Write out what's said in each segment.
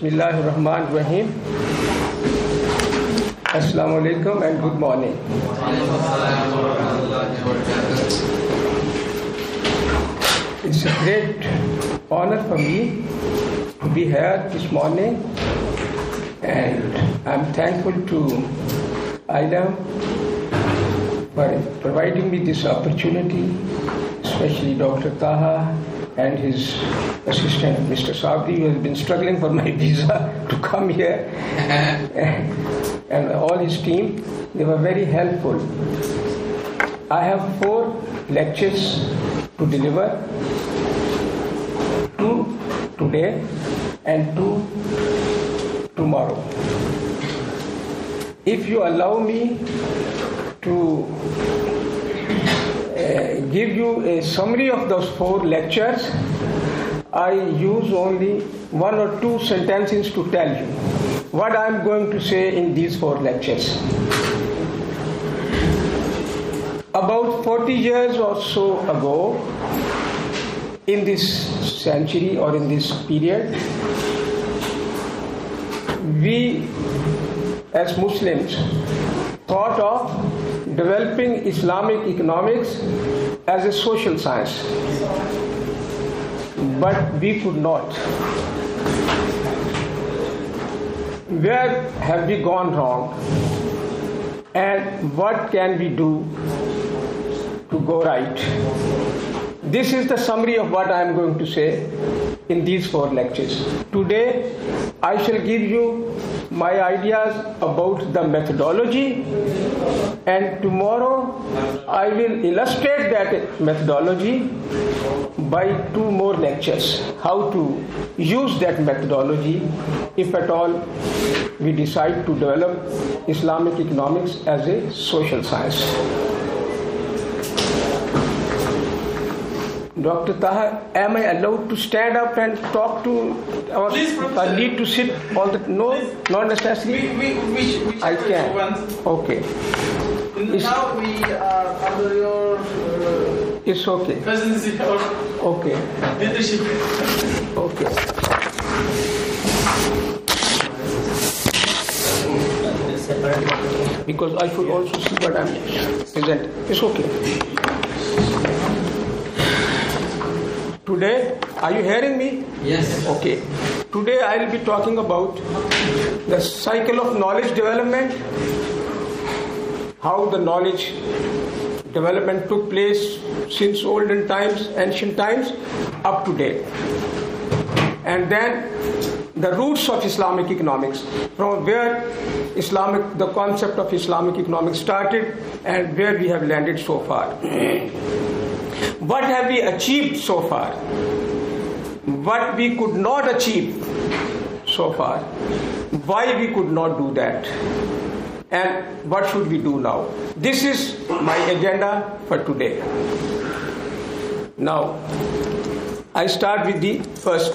Bismillahirrahmanirrahim. Assalamu alaikum and good morning. It's a great honor for me to be here this morning, and I'm thankful to IDEM for providing me this opportunity, especially Dr. Taha and his assistant, Mr. Sabri, who has been struggling for my visa to come here, and all his team. They were very helpful. I have 4 lectures to deliver, 2 today and 2 tomorrow. If you allow me to give you a summary of those 4 lectures, I use only 1 or 2 sentences to tell you what I am going to say in these 4 lectures. About 40 years or so ago, in this century or in this period, we as Muslims thought of developing Islamic economics as a social science, but we could not. Where have we gone wrong, and what can we do to go right? This is the summary of what I am going to say in these 4 lectures. Today, I shall give you my ideas about the methodology, and tomorrow I will illustrate that methodology by 2 more lectures, how to use that methodology if at all we decide to develop Islamic economics as a social science. Dr. Taha, am I allowed to stand up and talk to our... Please, Professor. I need to sit on the... No, not necessarily. Which I can. Okay. Now we are under your It's okay. presidency or Okay. leadership. Okay. Because I should also see what I'm presenting. It's okay. Today, are you hearing me? Yes. Okay. Today I will be talking about the cycle of knowledge development, how the knowledge development took place since olden times, ancient times, up to date. And then the roots of Islamic economics, from where the concept of Islamic economics started and where we have landed so far. What have we achieved so far? What we could not achieve so far? Why we could not do that? And what should we do now? This is my agenda for today. Now, I start with the first.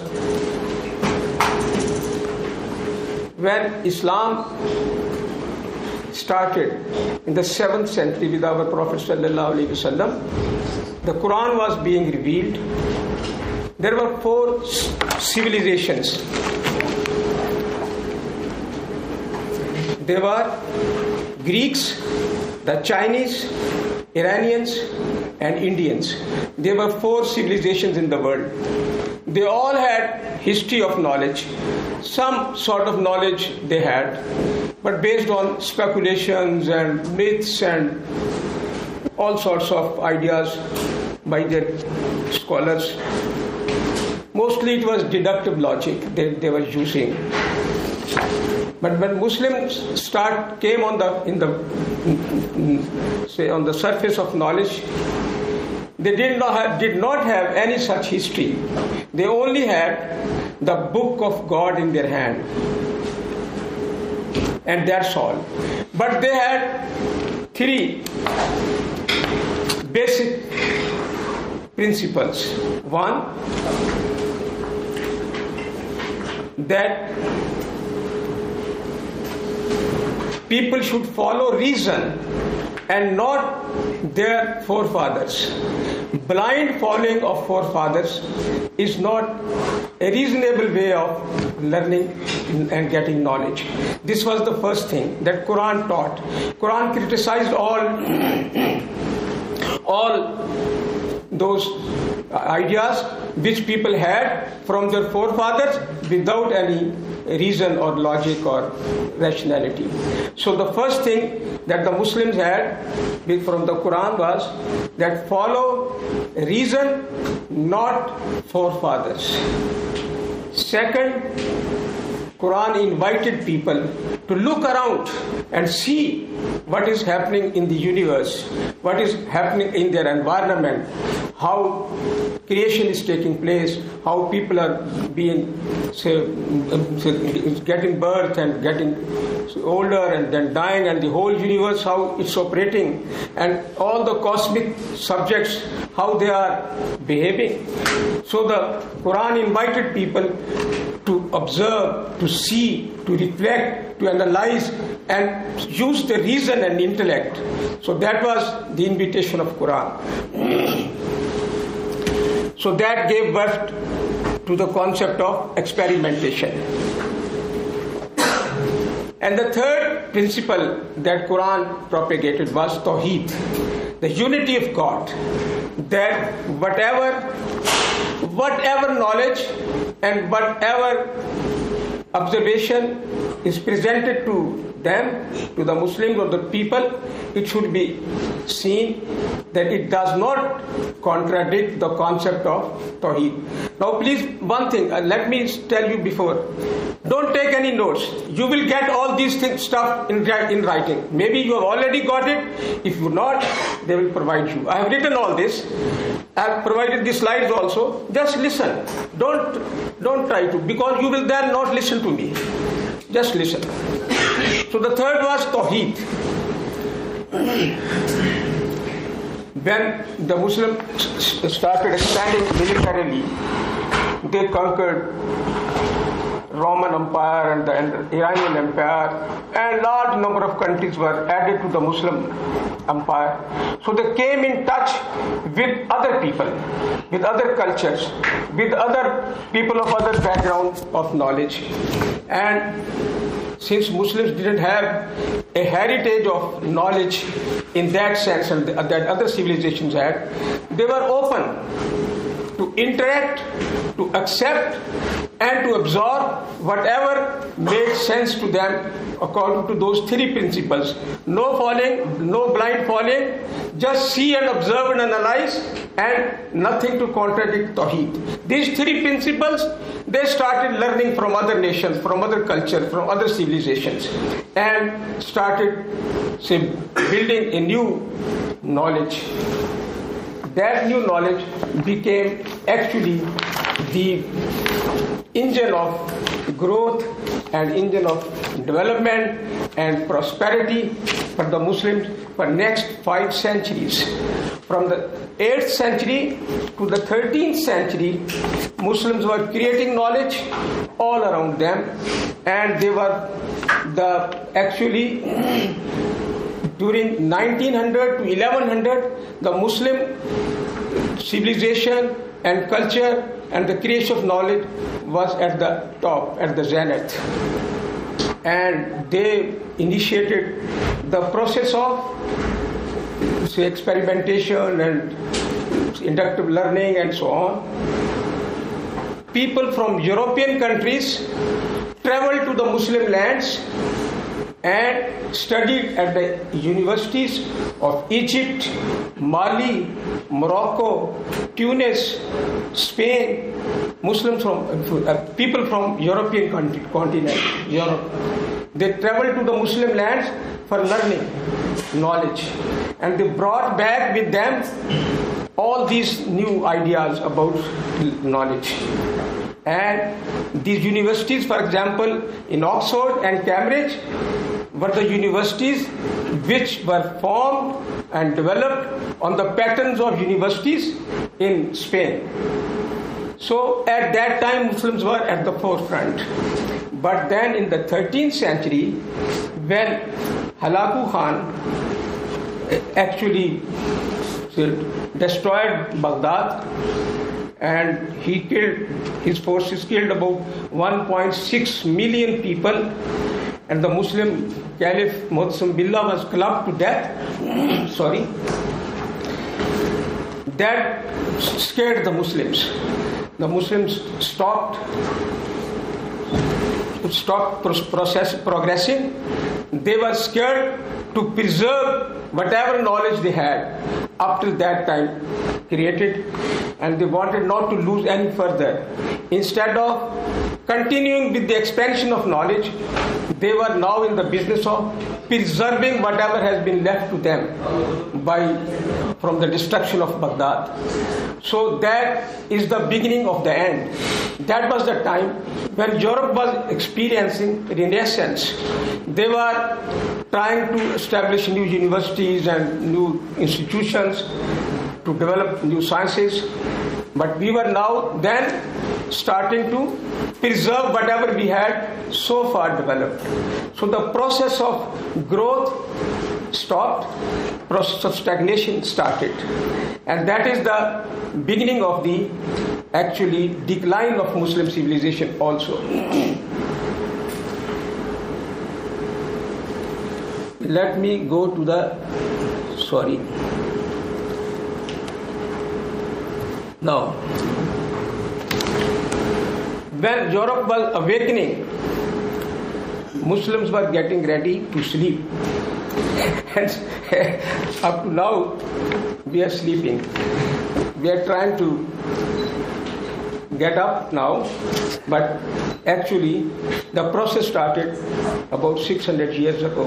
When Islam started in the 7th century with our Prophet sallallahu alaihi wasallam, the Quran was being revealed. There were 4 civilizations. They were Greeks, the Chinese, Iranians, and Indians. There were 4 civilizations in the world. They all had history of knowledge. Some sort of knowledge they had, but based on speculations and myths and all sorts of ideas by their scholars. Mostly it was deductive logic they were using. But when Muslims came on the surface of knowledge, they did not have any such history. They only had the book of God in their hand, and that's all. But they had 3 basic principles. One, that people should follow reason and not their forefathers. Blind following of forefathers is not a reasonable way of learning and getting knowledge. This was the first thing that Quran taught. Quran criticized all those ideas which people had from their forefathers without any reason or logic or rationality. So the first thing that the Muslims had from the Quran was that follow reason, not forefathers. Second, Quran invited people to look around and see what is happening in the universe, what is happening in their environment, how creation is taking place, how people are being, getting birth and getting older and then dying, and the whole universe, how it's operating, and all the cosmic subjects, how they are behaving. So the Quran invited people to observe, to see, to reflect, to analyze, and use the reason and intellect. So that was the invitation of Quran. So that gave birth to the concept of experimentation. And the third principle that Quran propagated was Tawheed, the unity of God. That whatever knowledge and whatever observation is presented to them, to the Muslims or the people, it should be seen that it does not contradict the concept of Tawheed. Now please, one thing, let me tell you before, don't take any notes. You will get all these stuff in writing. Maybe you have already got it. If you not, they will provide you. I have written all this. I have provided the slides also. Just listen. Don't try to, because you will then not listen to me. Just listen. So the third was Tawheed. When the Muslims started expanding militarily, they conquered Roman Empire and the Iranian Empire, and large number of countries were added to the Muslim Empire. So they came in touch with other people, with other cultures, with other people of other backgrounds of knowledge. And since Muslims didn't have a heritage of knowledge in that sense and that other civilizations had, they were open to interact, to accept, and to absorb whatever made sense to them according to those three principles. No falling, no blind falling, just see and observe and analyze, and nothing to contradict Tawheed. These three principles, they started learning from other nations, from other cultures, from other civilizations, and started building a new knowledge. That new knowledge became actually the engine of growth and engine of development and prosperity for the Muslims for next 5 centuries. From the 8th century to the 13th century, Muslims were creating knowledge all around them, and they were during 1900 to 1100, the Muslim civilization and culture and the creation of knowledge was at the top, at the zenith. And they initiated the process of experimentation and inductive learning and so on. People from European countries traveled to the Muslim lands and studied at the universities of Egypt, Mali, Morocco, Tunis, Spain. Muslims people from European continent, Europe. They traveled to the Muslim lands for learning knowledge, and they brought back with them all these new ideas about knowledge. And these universities, for example, in Oxford and Cambridge, were the universities which were formed and developed on the patterns of universities in Spain. So at that time, Muslims were at the forefront. But then in the 13th century, when Halaku Khan actually destroyed Baghdad, and his forces killed about 1.6 million people, and the Muslim Caliph Mu'tasim Billah was clubbed to death. That scared the Muslims. The Muslims stopped progressing. They were scared to preserve whatever knowledge they had up till that time created, and they wanted not to lose any further. Instead of continuing with the expansion of knowledge, they were now in the business of preserving whatever has been left to them from the destruction of Baghdad. So that is the beginning of the end. That was the time when Europe was experiencing renaissance. They were trying to establish new universities and new institutions to develop new sciences. But we were now then starting to preserve whatever we had so far developed. So the process of growth stopped, process of stagnation started. And that is the beginning of the actually decline of Muslim civilization also. Let me go to Now, when Europe was awakening, Muslims were getting ready to sleep. And up to now, we are sleeping. We are trying to get up now, but actually the process started about 600 years ago.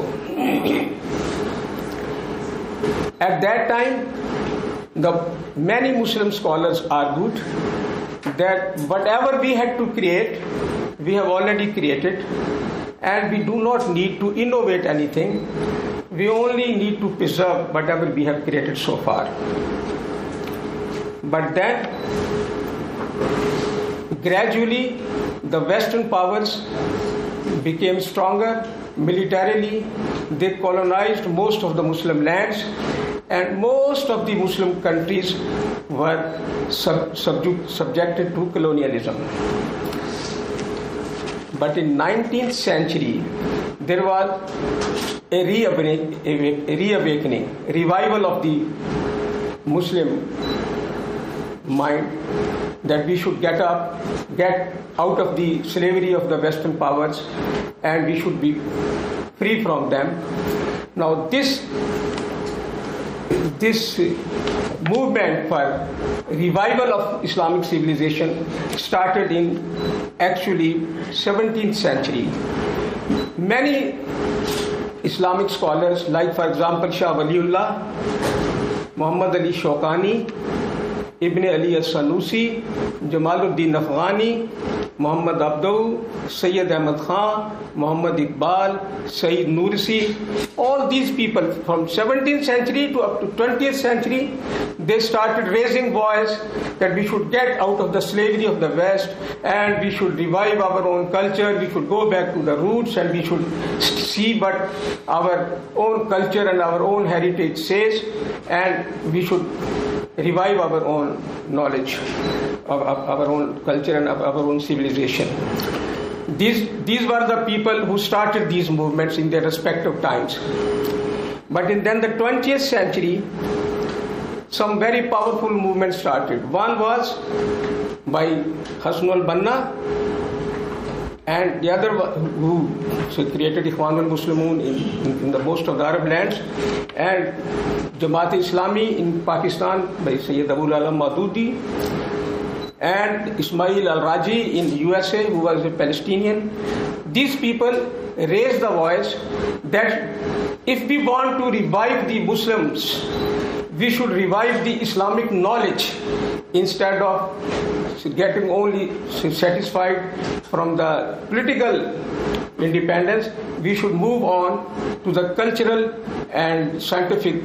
At that time, many Muslim scholars argued that whatever we had to create, we have already created, and we do not need to innovate anything. We only need to preserve whatever we have created so far. But then, gradually, the Western powers became stronger militarily. They colonized most of the Muslim lands, and most of the Muslim countries were subjected to colonialism. But in 19th century, there was a reawakening, revival of the Muslim mind, that we should get out of the slavery of the Western powers, and we should be free from them. Now this movement for revival of Islamic civilization started in actually 17th century. Many Islamic scholars, like for example Shah Waliullah, Muhammad Ali Shawkani, Ibn Ali al-Sanusi, Jamaluddin Afghani, Muhammad Abdou, Sayyid Ahmad Khan, Muhammad Iqbal, Sayyid Nursi, all these people from 17th century to up to 20th century, they started raising voice that we should get out of the slavery of the West, and we should revive our own culture, we should go back to the roots, and we should see what our own culture and our own heritage says, and we should revive our own knowledge of our own culture and of our own civilization. These were the people who started these movements in their respective times. But then the 20th century, some very powerful movements started. One was by Hassan al-Banna, and the other who created Ikhwan al-Muslimun in the most of the Arab lands, and Jamaat-e-Islami in Pakistan by Sayyid Abul Alam Maududi, and Ismail al-Raji in USA, who was a Palestinian. These people raised the voice that if we want to revive the Muslims, we should revive the Islamic knowledge instead of getting only satisfied from the political independence. We should move on to the cultural and scientific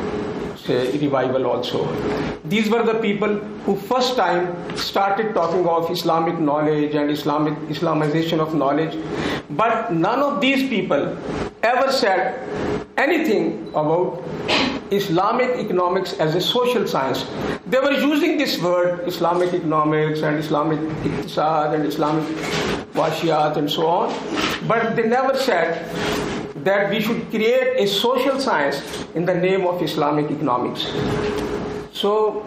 revival also. These were the people who first time started talking of Islamic knowledge and Islamization of knowledge. But none of these people ever said anything about Islamic economics as a social science. They were using this word Islamic economics and Islamic iqtisad and Islamic washiyat and so on, but they never said that we should create a social science in the name of Islamic economics. So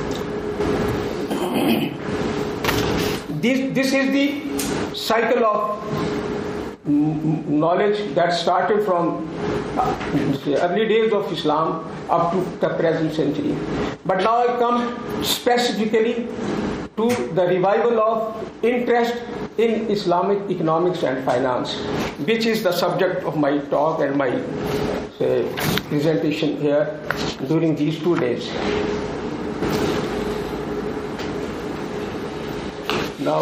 this is the cycle of knowledge that started from the early days of Islam up to the present century. But now I come specifically to the revival of interest in Islamic economics and finance, which is the subject of my talk and my presentation here during these 2 days. Now,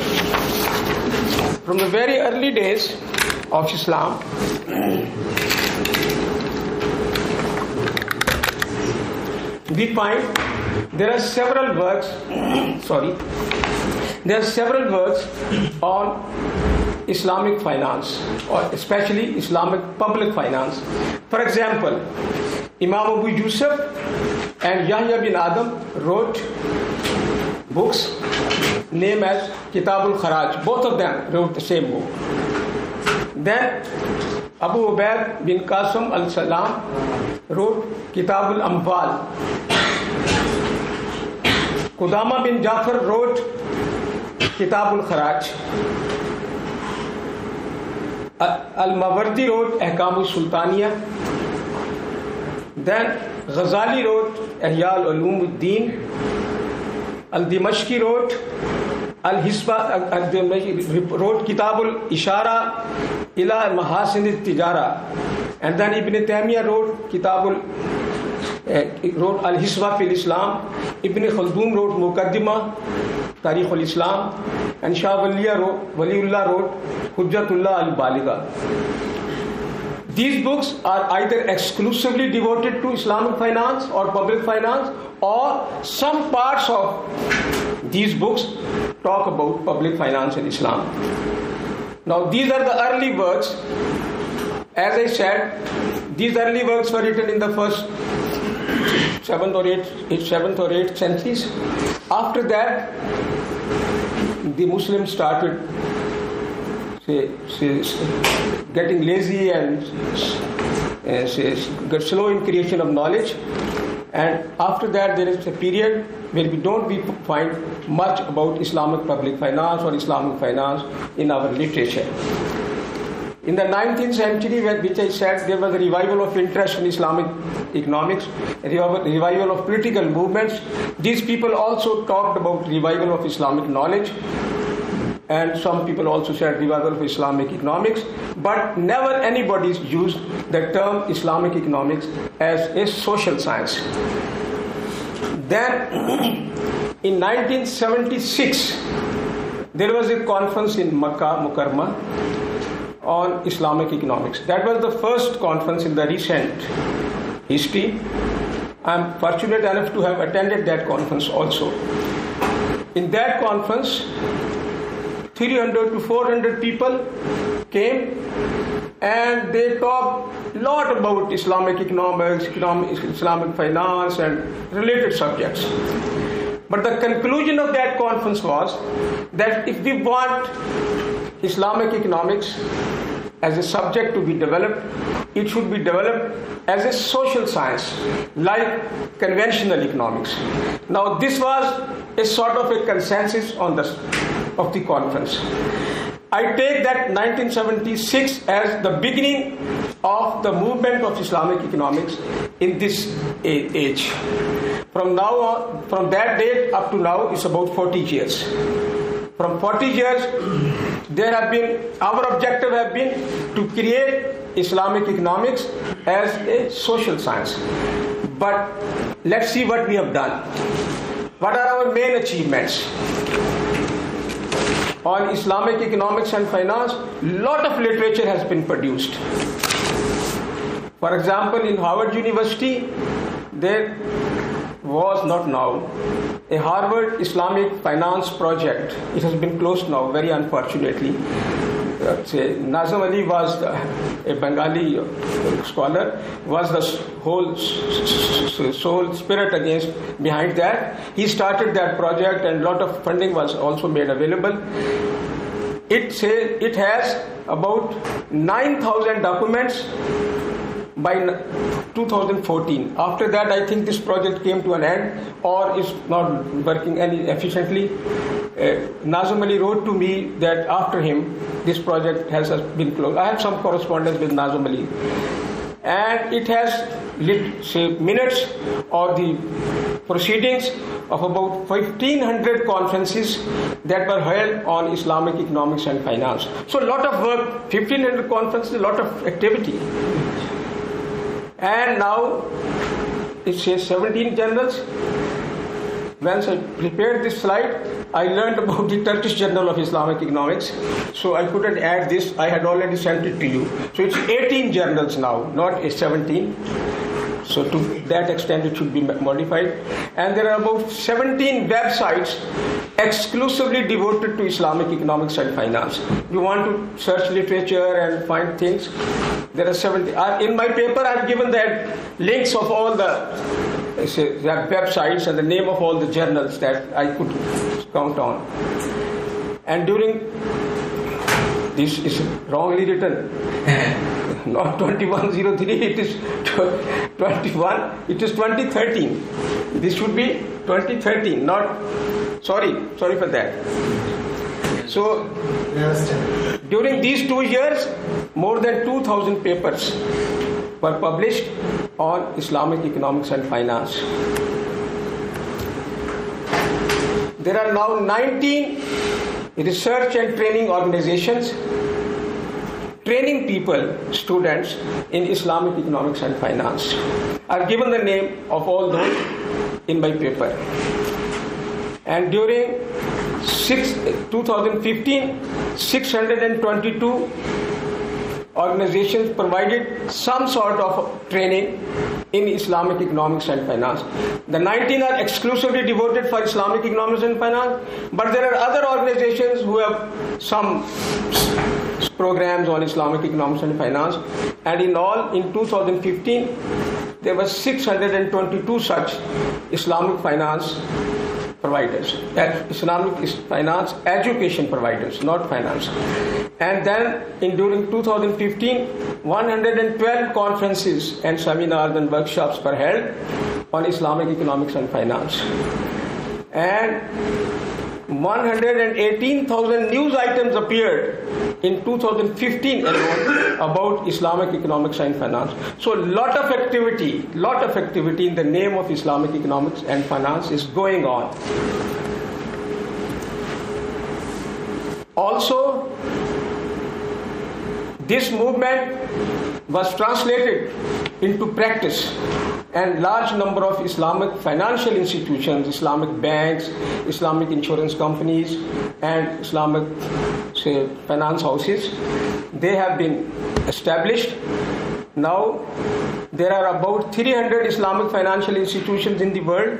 from the very early days of Islam, we find there are several works on Islamic finance, or especially Islamic public finance. For example, Imam Abu Yusuf and Yahya bin Adam wrote books named as Kitab al-Kharaj. Both of them wrote the same book. Then Abu Ubaid bin Qasim al-Salam wrote Kitab al-Amwal. Qudama bin Jafar wrote Kitab al-Kharaj. Al-Mawardi wrote Ahkam al-Sultaniya. Then Ghazali wrote Ihya al-Ulum ad-Din. Al-Dimashqi wrote wrote Kitab al-Ishara ila Mahasin al-Tijara. And then Ibn Taymiyyah wrote wrote Al-Hisba fil Islam. Ibn Khaldun wrote Muqaddimah Tarikh al-Islam. And Shah Waliullah wrote Hujjatullah al-Baligha. These books are either exclusively devoted to Islamic finance or public finance, or some parts of these books talk about public finance in Islam. Now, these are the early works. As I said, these early works were written in the first 7th or 8th centuries. After that, the Muslims started getting lazy and get slow in creation of knowledge. And after that, there is a period where we don't find much about Islamic public finance or Islamic finance in our literature. In the 19th century, which I said, there was a revival of interest in Islamic economics, a revival of political movements. These people also talked about revival of Islamic knowledge, and some people also said revival of Islamic economics, but never anybody used the term Islamic economics as a social science. Then, in 1976, there was a conference in Makkah Mukarramah on Islamic economics. That was the first conference in the recent history. I am fortunate enough to have attended that conference also. In that conference, 300 to 400 people came, and they talked a lot about Islamic economics, Islamic finance and related subjects. But the conclusion of that conference was that if we want Islamic economics as a subject to be developed, it should be developed as a social science, like conventional economics. Now, this was a sort of a consensus of the conference. I take that 1976 as the beginning of the movement of Islamic economics in this age. From now on, from that date up to now, it's about 40 years. From 40 years, our objective have been to create Islamic economics as a social science. But let's see what we have done. What are our main achievements? On Islamic economics and finance, a lot of literature has been produced. For example, in Harvard University, there was not now a Harvard Islamic finance project. It has been closed now, very unfortunately. Nazim Ali was a Bengali scholar, was the whole soul spirit behind that. He started that project, and a lot of funding was also made available. It has about 9,000 documents by 2014. After that, I think this project came to an end or is not working any efficiently. Nazim Ali wrote to me that after him, this project has been closed. I have some correspondence with Nazim Ali. And it has minutes or the proceedings of about 1,500 conferences that were held on Islamic economics and finance. So a lot of work, 1,500 conferences, a lot of activity. And now it says 17 journals. Once I prepared this slide, I learned about the Turkish Journal of Islamic Economics. So I couldn't add this. I had already sent it to you. So it's 18 journals now, not 17. So to that extent, it should be modified. And there are about 17 websites exclusively devoted to Islamic economics and finance. You want to search literature and find things, there are 70. In my paper, I've given the links of all the websites and the name of all the journals that I could count on. And during, this is wrongly written, not 2103, it is 21, it is 2013. This should be 2013, not, sorry for that. So, during these 2 years, more than 2,000 papers were published on Islamic economics and finance. There are now 19 research and training organizations training people, students, in Islamic economics and finance. I've given the name of all those in my paper. And during 2015, 622 organizations provided some sort of training in Islamic economics and finance. The 19 are exclusively devoted for Islamic economics and finance, but there are other organizations who have some programs on Islamic economics and finance, and in all, in 2015, there were 622 such Islamic finance providers, Islamic finance education providers, not finance. And then during 2015, 112 conferences and seminars and workshops were held on Islamic economics and finance. And 118,000 news items appeared in 2015 alone about Islamic economics and finance. So lot of activity in the name of Islamic economics and finance is going on. Also, this movement was translated into practice, and large number of Islamic financial institutions, Islamic banks, Islamic insurance companies, and Islamic finance houses, they have been established. Now there are about 300 Islamic financial institutions in the world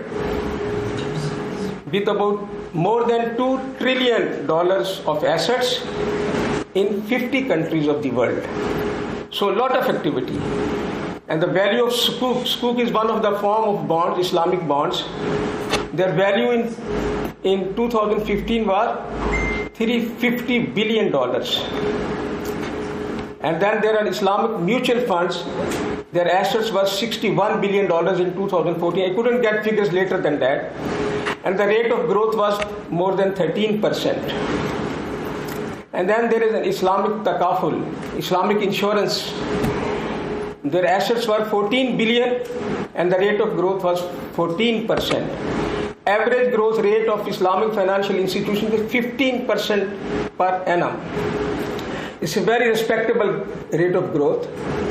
with about more than $2 trillion of assets in 50 countries of the world. So a lot of activity. And the value of Sukuk is one of the form of bonds, Islamic bonds. Their value in 2015 was $350 billion. And then there are Islamic mutual funds. Their assets were $61 billion in 2014. I couldn't get figures later than that. And the rate of growth was more than 13%. And then there is an Islamic Takaful, Islamic insurance. Their assets were 14 billion and the rate of growth was 14%. Average growth rate of Islamic financial institutions is 15% per annum. It's a very respectable rate of growth.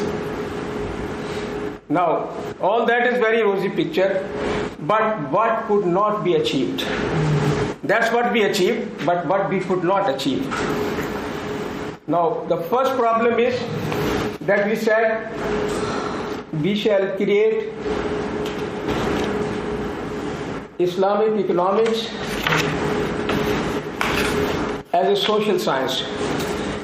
Now, all that is very rosy picture, but what could not be achieved? That's what we achieved, but what we could not achieve. Now, the first problem is that we said we shall create Islamic economics as a social science.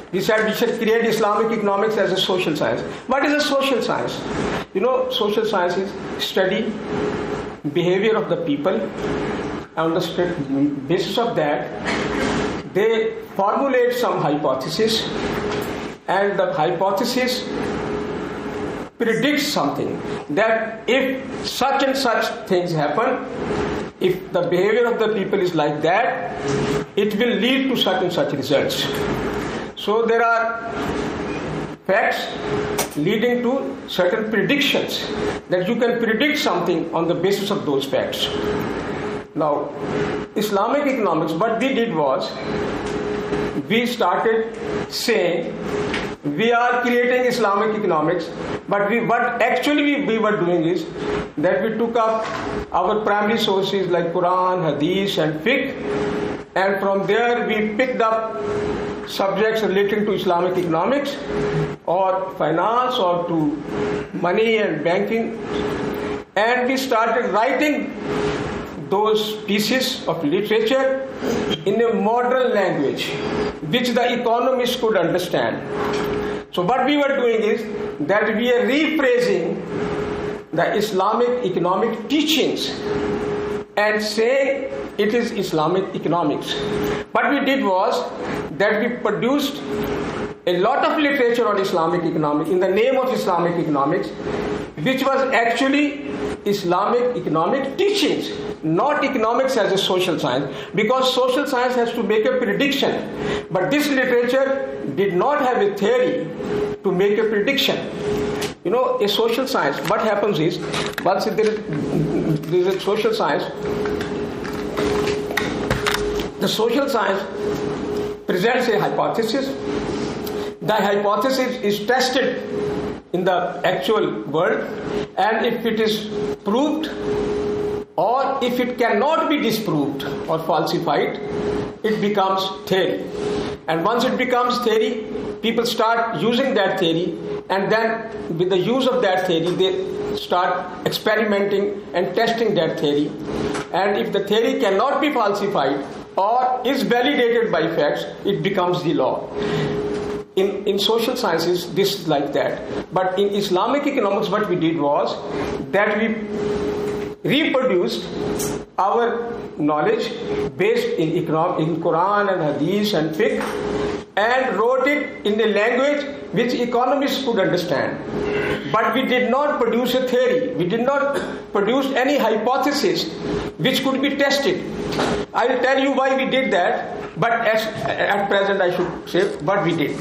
We said we should create Islamic economics as a social science. What is a social science? You know, social science is study behavior of the people. On the basis of that, they formulate some hypothesis, and the hypothesis predicts something, that if such and such things happen, if the behavior of the people is like that, it will lead to such and such results. So there are facts leading to certain predictions, that you can predict something on the basis of those facts. Now, Islamic economics, what we did was, we started saying we are creating Islamic economics, but what actually we were doing is that we took up our primary sources like Quran, Hadith and Fiqh, and from there we picked up subjects relating to Islamic economics or finance or to money and banking, and we started writing those pieces of literature in a modern language which the economists could understand. So what we were doing is that we are rephrasing the Islamic economic teachings and saying it is Islamic economics. What we did was that we produced a lot of literature on Islamic economics in the name of Islamic economics, which was actually Islamic economic teachings, not economics as a social science, because social science has to make a prediction. But this literature did not have a theory to make a prediction. You know, a social science, what happens is, once there is a social science, the social science presents a hypothesis. The hypothesis is tested in the actual world, and if it is proved or if it cannot be disproved or falsified, it becomes theory. And once it becomes theory, people start using that theory, and then with the use of that theory, they start experimenting and testing that theory. And if the theory cannot be falsified or is validated by facts, it becomes the law. In social sciences, this is like that. But in Islamic economics, what we did was that we reproduced our knowledge based in Quran and Hadith and Fiqh, and wrote it in a language which economists could understand. But we did not produce a theory. We did not produce any hypothesis which could be tested. I will tell you why we did that, but at present I should say what we did.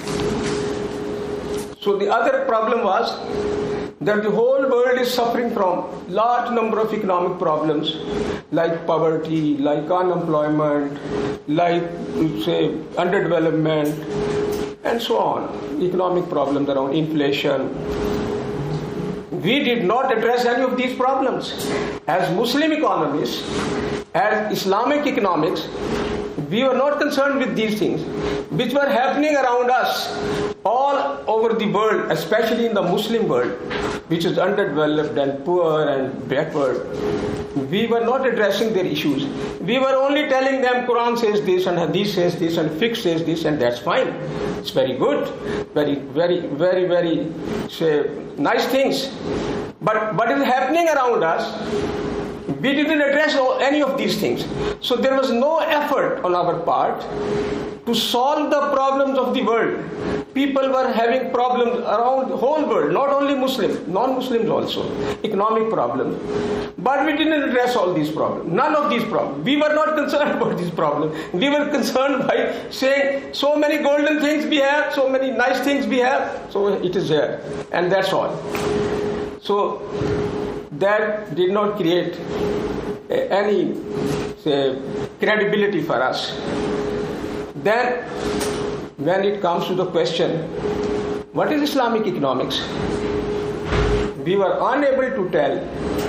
So the other problem was that the whole world is suffering from large number of economic problems, like poverty, like unemployment, like, say, underdevelopment, and so on. Economic problems around inflation. We did not address any of these problems. As Muslim economists, as Islamic economics, we were not concerned with these things which were happening around us all over the world, especially in the Muslim world, which is underdeveloped and poor and backward. We were not addressing their issues. We were only telling them Quran says this and Hadith says this and Fiqh says this, and that's fine. It's very good, very say, nice things. But what is happening around us, we didn't address any of these things. So there was no effort on our part to solve the problems of the world. People were having problems around the whole world, not only Muslims, non-Muslims also, economic problems. But we didn't address all these problems, none of these problems. We were not concerned about these problems. We were concerned by saying so many golden things we have, so many nice things we have, so it is there, and that's all. So that did not create any, say, credibility for us. Then, when it comes to the question, what is Islamic economics? We were unable to tell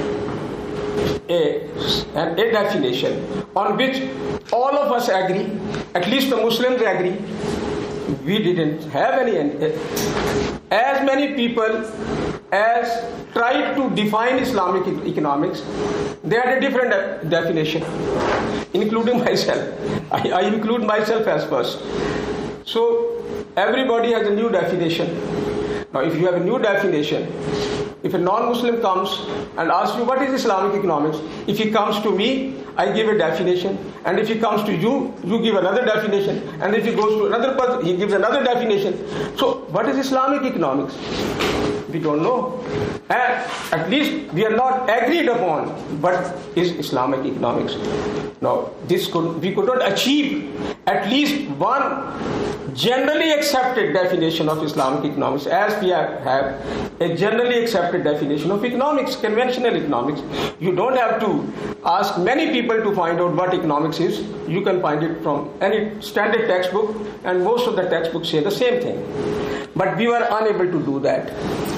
a definition on which all of us agree, at least the Muslims agree. We didn't have any. As many people as tried to define Islamic economics, they had a different definition, including myself. I include myself as first. So everybody has a new definition. Now, if you have a new definition, if a non-Muslim comes and asks you what is Islamic economics, if he comes to me, I give a definition, and if he comes to you, you give another definition, and if he goes to another person, he gives another definition. So, what is Islamic economics? We don't know. And at least we are not agreed upon what is Islamic economics. Now, we could not achieve at least one generally accepted definition of Islamic economics, as we have a generally accepted definition of economics, conventional economics. You don't have to ask many people to find out what economics is. You can find it from any standard textbook, and most of the textbooks say the same thing. But we were unable to do that.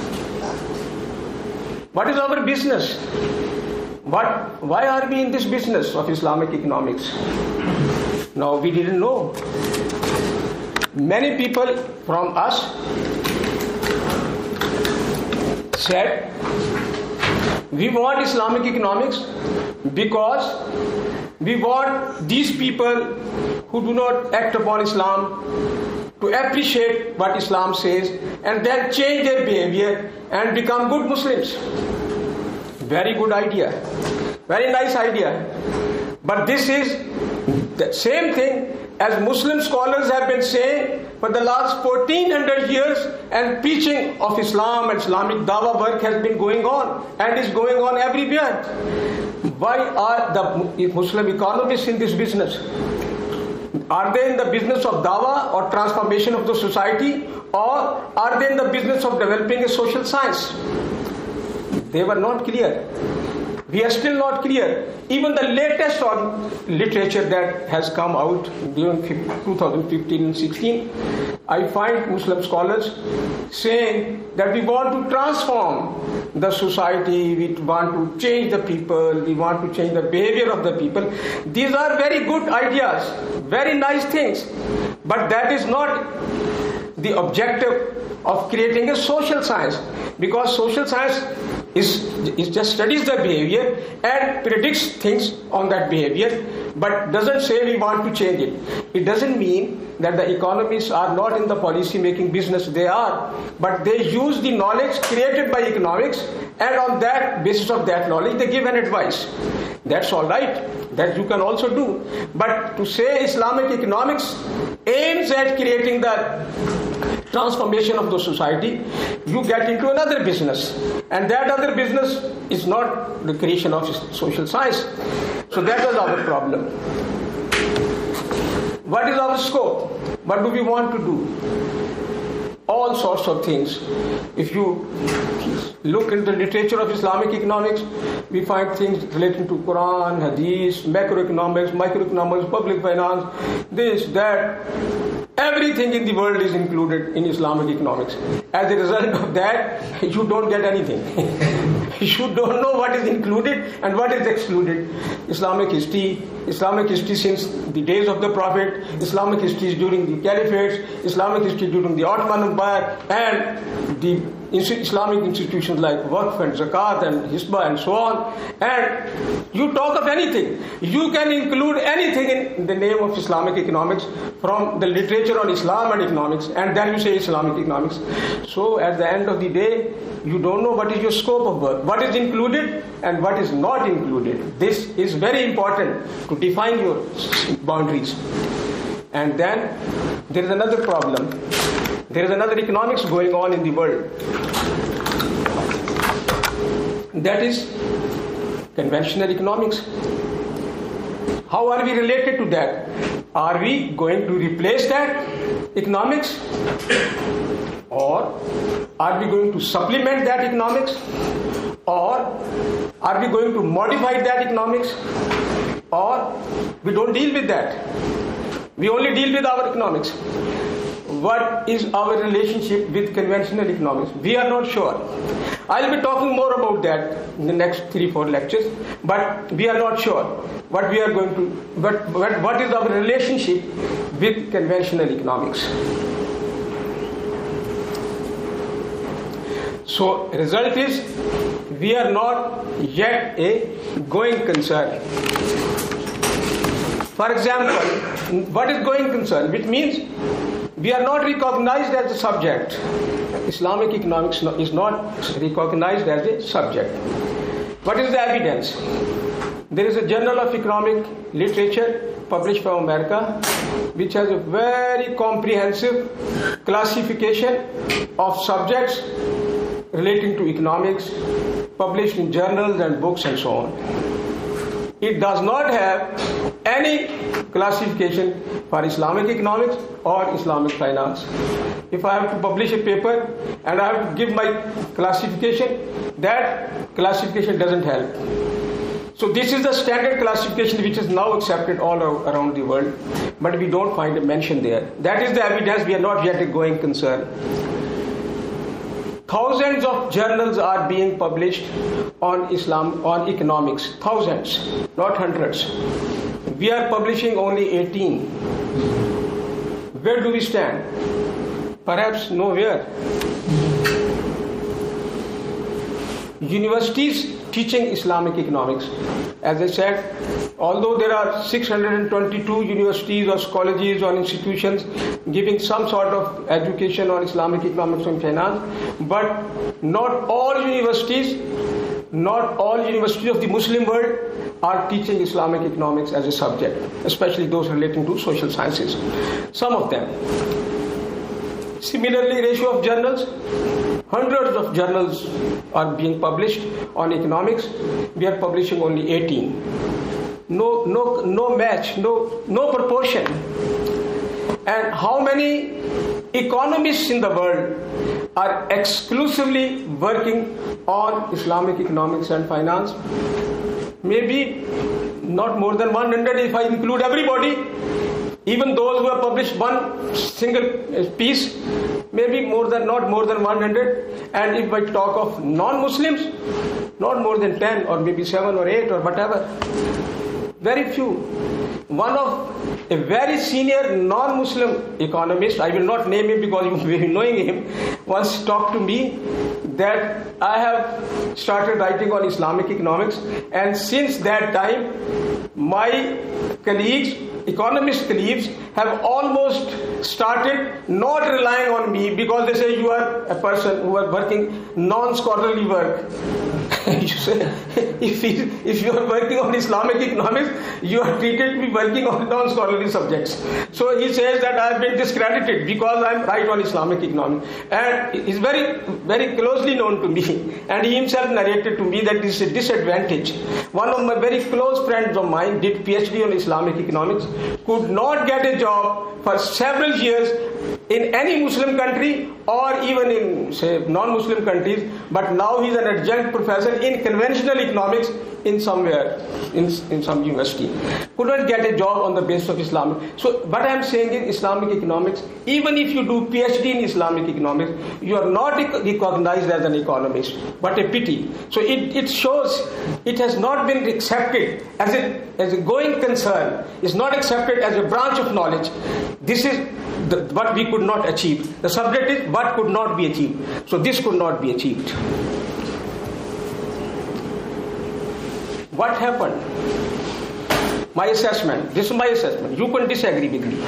What is our business? Why are we in this business of Islamic economics? Now, we didn't know. Many people from us said, we want Islamic economics because we want these people who do not act upon Islam to appreciate what Islam says and then change their behavior and become good Muslims. Very good idea. Very nice idea. But this is the same thing as Muslim scholars have been saying for the last 1400 years, and preaching of Islam and Islamic dawah work has been going on and is going on everywhere. Why are the Muslim economists in this business? Are they in the business of dawah or transformation of the society, or are they in the business of developing a social science? They were not clear. We are still not clear. Even the latest on literature that has come out during 2015 and 16, I find Muslim scholars saying that we want to transform the society, we want to change the people, we want to change the behavior of the people. These are very good ideas, very nice things, but that is not the objective of creating a social science, because social science is just studies the behavior and predicts things on that behavior, but doesn't say we want to change it. It doesn't mean that the economists are not in the policy making business. They are, but they use the knowledge created by economics, and on that basis of that knowledge they give an advice. That's all right, that you can also do. But to say Islamic economics aims at creating the transformation of the society, you get into another business, and that other business is not the creation of social science. So that was our problem. What is our scope? What do we want to do? All sorts of things. If you look in the literature of Islamic economics, we find things relating to Quran, Hadith, macroeconomics, microeconomics, public finance, this, that. Everything in the world is included in Islamic economics. As a result of that, you don't get anything. You don't know what is included and what is excluded. Islamic history since the days of the Prophet, Islamic history during the Caliphates, Islamic history during the Ottoman Empire, and the Islamic institutions like Waqf and Zakat and Hisbah and so on. And you talk of anything. You can include anything in the name of Islamic economics from the literature on Islam and economics, and then you say Islamic economics. So at the end of the day, you don't know what is your scope of work, what is included and what is not included. This is very important to define your boundaries. And then there is another problem. There is another economics going on in the world. That is conventional economics. How are we related to that? Are we going to replace that economics? Or are we going to supplement that economics? Or are we going to modify that economics? Or we don't deal with that. We only deal with our economics. What is our relationship with conventional economics? We are not sure. I'll be talking more about that in the next 3-4 lectures, but we are not sure what we are going to, what is our relationship with conventional economics. So result is, we are not yet a going concern. For example, what is going concern? Which means We are not recognized as a subject. Islamic economics is not recognized as a subject. What is the evidence? There is a Journal of Economic Literature published from America, which has a very comprehensive classification of subjects relating to economics, published in journals and books and so on. It does not have any classification for Islamic economics or Islamic finance. If I have to publish a paper and I have to give my classification, that classification doesn't help. So this is the standard classification which is now accepted all around the world, but we don't find a mention there. That is the evidence. We are not yet a going concern. Thousands of journals are being published on Islam, on economics. Thousands, not hundreds. We are publishing only 18. Where do we stand? Perhaps nowhere. Universities teaching Islamic economics. As I said, although there are 622 universities or colleges or institutions giving some sort of education on Islamic economics and finance, but not all universities of the Muslim world are teaching Islamic economics as a subject, especially those relating to social sciences. Some of them. Similarly, ratio of journals, hundreds of journals are being published on economics. We are publishing only 18. No match, no proportion. And how many economists in the world are exclusively working on Islamic economics and finance? Maybe not more than 100 if I include everybody. Even those who have published one single piece, maybe not more than 100. And if I talk of non-Muslims, not more than 10 or maybe 7 or 8 or whatever. Very few. One of a very senior non-Muslim economist, I will not name him because you may be knowing him, once talked to me that I have started writing on Islamic economics, and since that time my colleagues, economist colleagues, have almost started not relying on me because they say you are a person who are working non-scholarly work. You say, if you are working on Islamic economics, you are treated to be working on non-scholarly subjects. So he says that I have been discredited because I write on Islamic economics. And he is very, very closely known to me. And he himself narrated to me that this is a disadvantage. One of my very close friends of mine did PhD on Islamic economics, could not get a job for several years in any Muslim country or even in, say, non-Muslim countries, but now he's an adjunct professor in conventional economics in somewhere, in some university. Could not get a job on the basis of Islamic. So what I am saying is Islamic economics, even if you do PhD in Islamic economics, you are not recognized as an economist. What a pity. So it shows it has not been accepted as a going concern. It's not accepted as a branch of knowledge. This is what we could not achieve. The subject is what could not be achieved. So this could not be achieved. What happened? My assessment. This is my assessment. You can disagree with me.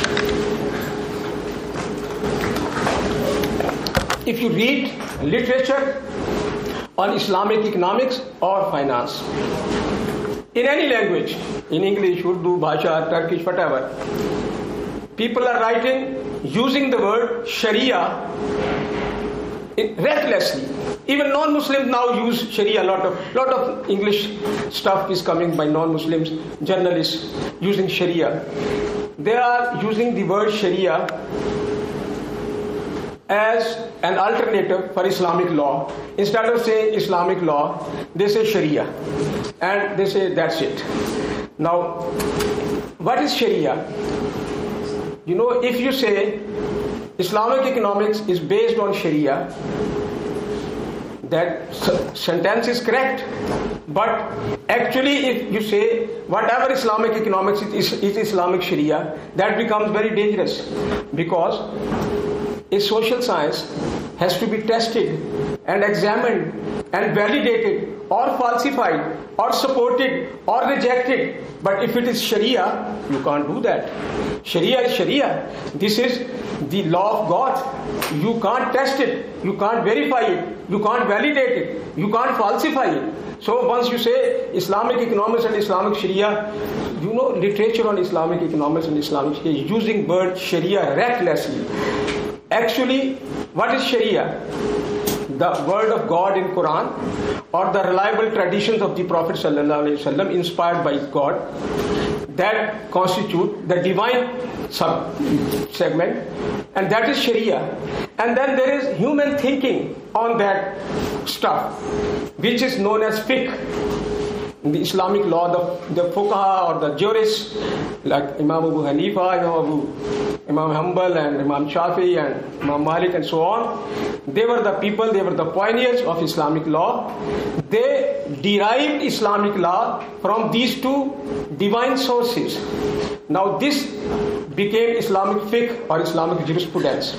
If you read literature on Islamic economics or finance, in any language, in English, Urdu, Bhasha, Turkish, whatever, people are writing using the word Sharia recklessly. Even non-Muslims now use Sharia. Lot of English stuff is coming by non-Muslims, journalists using Sharia. They are using the word Sharia as an alternative for Islamic law. Instead of saying Islamic law, they say Sharia. And they say that's it. Now, what is Sharia? You know, if you say Islamic economics is based on Sharia, that sentence is correct. But actually, if you say whatever Islamic economics is Islamic Sharia, that becomes very dangerous, because a social science has to be tested and examined and validated or falsified or supported or rejected. But if it is Sharia, you can't do that. Sharia is Sharia. This is the law of God. You can't test it. You can't verify it. You can't validate it. You can't falsify it. So once you say Islamic economics and Islamic Sharia, you know, literature on Islamic economics and Islamic Sharia is using word Sharia recklessly. Actually, what is Sharia? The word of God in Quran, or the reliable traditions of the Prophet ﷺ inspired by God, that constitute the divine sub-segment, and that is Sharia. And then there is human thinking on that stuff, which is known as fiqh. In the Islamic law, the fuqaha or the jurists, like Imam Abu Hanifa, Imam Hanbal and Imam Shafi and Imam Malik and so on, they were the people, they were the pioneers of Islamic law. They derived Islamic law from these two divine sources. Now this became Islamic fiqh or Islamic jurisprudence.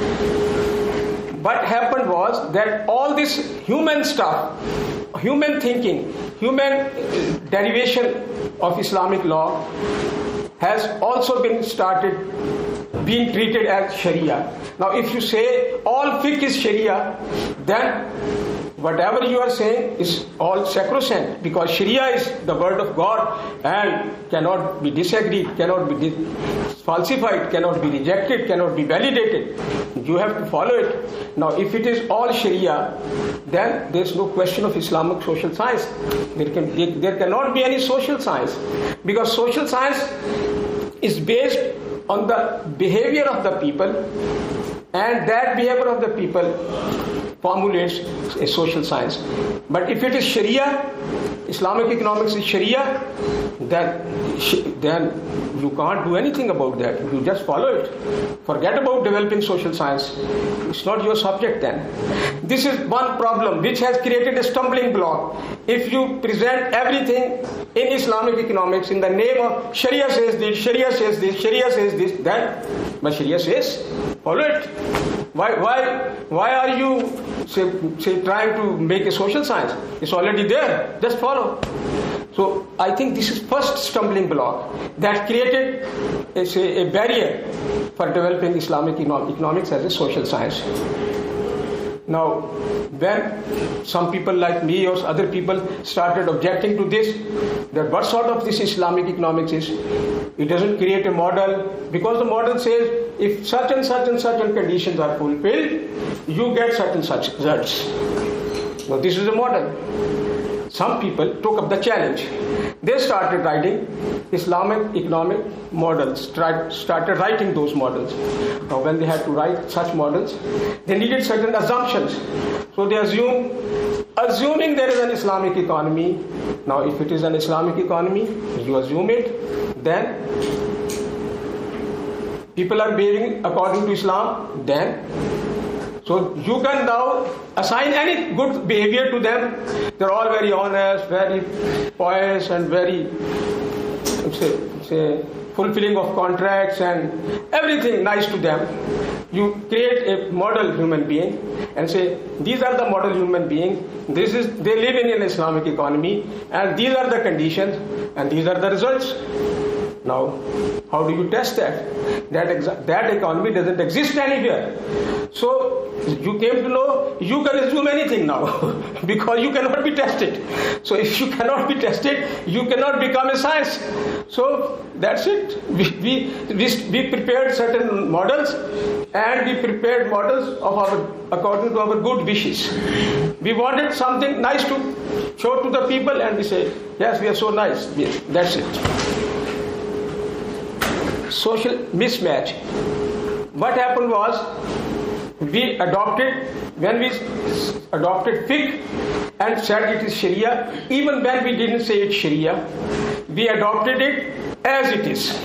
What happened was that all this human stuff, human thinking, human derivation of Islamic law has also been started being treated as Sharia. Now if you say all fiqh is Sharia, then whatever you are saying is all sacrosanct, because Sharia is the word of God and cannot be disagreed, cannot be falsified, cannot be rejected, cannot be validated. You have to follow it. Now if it is all Sharia, then there is no question of Islamic social science. There cannot be any social science, because social science is based on the behavior of the people, and that behavior of the people formulates a social science. But if it is Sharia, Islamic economics is Sharia, then you can't do anything about that. You just follow it. Forget about developing social science. It's not your subject then. This is one problem which has created a stumbling block. If you present everything in Islamic economics in the name of Sharia says this, Sharia says this, Sharia says this, then but Sharia says, follow it. Why are you say trying to make a social science? It's already there. Just follow. So I think this is first stumbling block that created a barrier for developing Islamic economics as a social science. Now, when some people like me or other people started objecting to this, that what sort of this Islamic economics is, it doesn't create a model, because the model says if such and such and such conditions are fulfilled, you get such and such results. Now this is a model. Some people took up the challenge. They started writing Islamic economic models, started writing those models. Now when they had to write such models, they needed certain assumptions. So they assuming there is an Islamic economy. Now if it is an Islamic economy, you assume it, then people are behaving according to Islam, then so you can now assign any good behavior to them. They're all very honest, very pious, and very say fulfilling of contracts and everything nice to them. You create a model human being and say, these are the model human beings, they live in an Islamic economy, and these are the conditions and these are the results. Now, how do you test that? That economy doesn't exist anywhere. So you came to know you can assume anything now because you cannot be tested. So if you cannot be tested, you cannot become a science. So that's it. We prepared certain models, and we prepared models according to our good wishes. We wanted something nice to show to the people, and we say, yes, we are so nice. Yes, that's it. Social mismatch. What happened was, when we adopted fiqh and said it is Sharia, even when we didn't say it's Sharia, we adopted it as it is.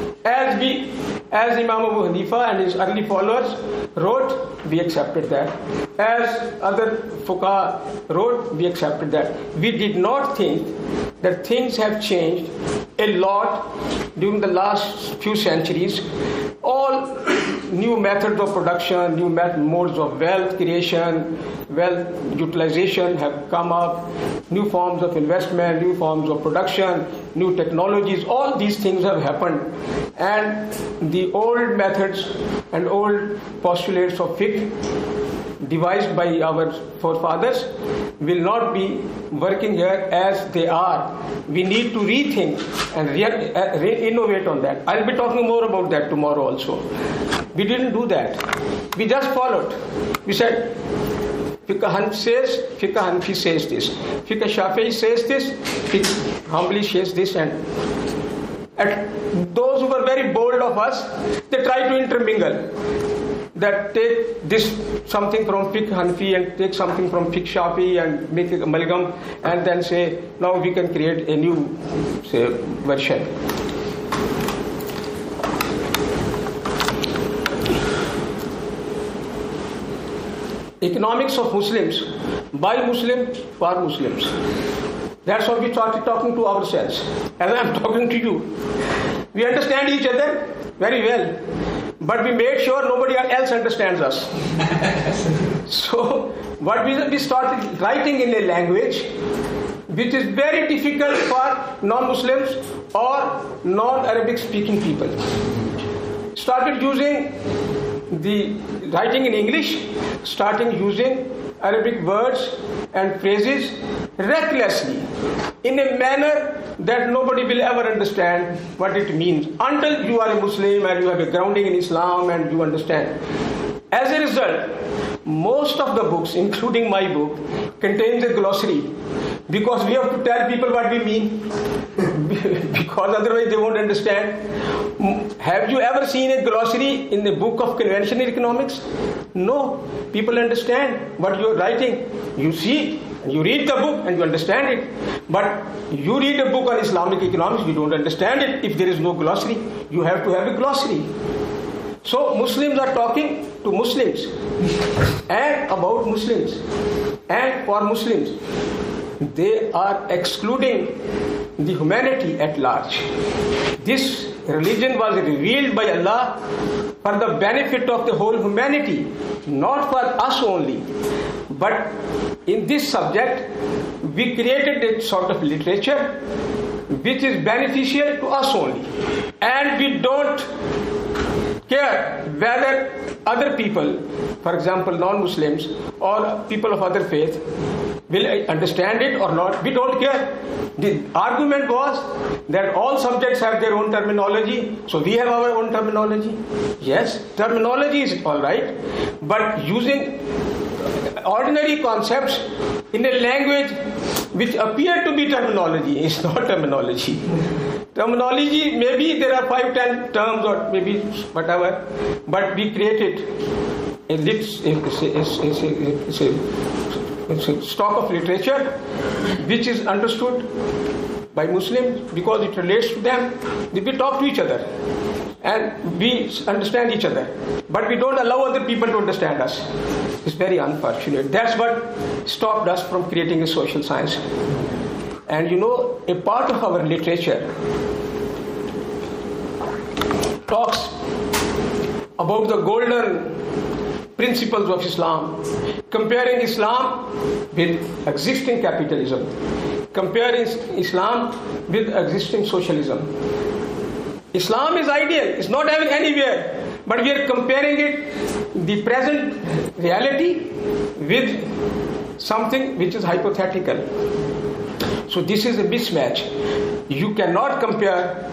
As Imam Abu Hanifa and his early followers wrote, we accepted that. As other fuqaha wrote, we accepted that. We did not think that things have changed a lot during the last few centuries, all new methods of production, new modes of wealth creation, wealth utilization have come up, new forms of investment, new forms of production, new technologies, all these things have happened. And the old methods and old postulates of fiqh devised by our forefathers will not be working here as they are. We need to rethink and re-innovate on that. I'll be talking more about that tomorrow also. We didn't do that. We just followed. We said, Fiqh Hanafi says this, Fiqh Shafi'i says this, Fiqh Hanbali says this, and those who were very bold of us, they try to intermingle. That take this something from Fiqh Hanafi and take something from Fiqh Shafi'i and make an amalgam and then say, now we can create a new, say, version. Economics of Muslims, by Muslims, for Muslims. That's how we started talking to ourselves, as I'm talking to you. We understand each other very well, but we made sure nobody else understands us. So what we started writing in a language which is very difficult for non-Muslims or non-Arabic speaking people. Started using the writing in English, starting using Arabic words and phrases recklessly in a manner that nobody will ever understand what it means until you are a Muslim and you have a grounding in Islam and you understand. As a result, most of the books, including my book, contains a glossary because we have to tell people what we mean because otherwise they won't understand. Have you ever seen a glossary in the book of conventional economics? No. People understand what you're writing. You see, you read the book and you understand it. But you read a book on Islamic economics, you don't understand it if there is no glossary. You have to have a glossary. So Muslims are talking to Muslims and about Muslims and for Muslims. They are excluding the humanity at large. This religion was revealed by Allah for the benefit of the whole humanity, not for us only. But in this subject, we created a sort of literature which is beneficial to us only. And we don't care whether other people, for example non-Muslims or people of other faith, will understand it or not. We don't care. The argument was that all subjects have their own terminology, so we have our own terminology. Yes, terminology is all right, but using ordinary concepts in a language which appear to be terminology is not terminology. Terminology, maybe there are 5-10 terms or maybe whatever, but we created it's a stock of literature which is understood by Muslims because it relates to them. We talk to each other and we understand each other, but we don't allow other people to understand us. It's very unfortunate. That's what stopped us from creating a social science. And you know, a part of our literature talks about the golden principles of Islam, comparing Islam with existing capitalism, comparing Islam with existing socialism. Islam is ideal, it's not having anywhere, but we are comparing it, the present reality, with something which is hypothetical. So this is a mismatch. You cannot compare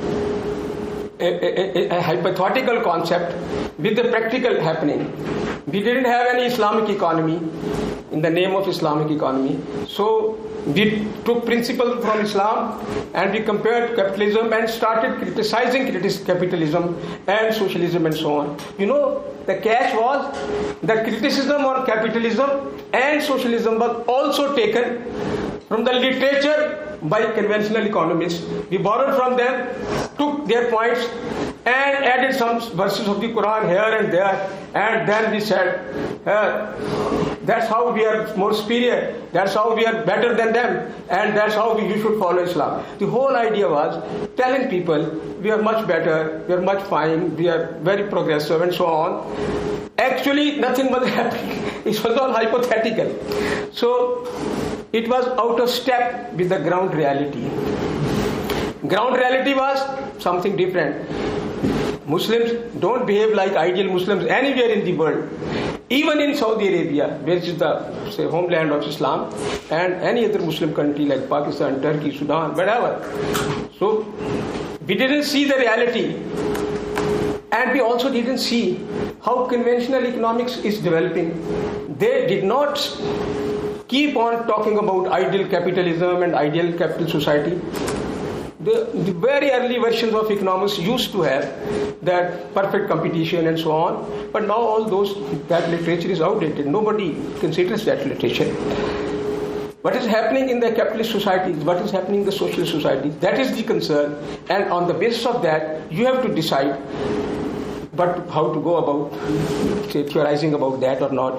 a hypothetical concept with the practical happening. We didn't have any Islamic economy in the name of Islamic economy. So we took principles from Islam and we compared capitalism and started criticizing capitalism and socialism and so on. You know, the catch was the criticism on capitalism and socialism was also taken from the literature by conventional economists. We borrowed from them, took their points and added some verses of the Quran here and there, and then we said, that's how we are more superior, that's how we are better than them, and that's how you should follow Islam. The whole idea was telling people we are much better, we are much fine, we are very progressive and so on. Actually, nothing was happening. It was all hypothetical. So, it was out of step with the ground reality. Ground reality was something different. Muslims don't behave like ideal Muslims anywhere in the world. Even in Saudi Arabia, which is the homeland of Islam, and any other Muslim country like Pakistan, Turkey, Sudan, whatever. So, we didn't see the reality. And we also didn't see how conventional economics is developing. They did not keep on talking about ideal capitalism and ideal capital society. The very early versions of economics used to have that perfect competition and so on, but now all that literature is outdated. Nobody considers that literature. What is happening in the capitalist societies, what is happening in the socialist society, that is the concern, and on the basis of that, you have to decide how to go about theorizing about that or not.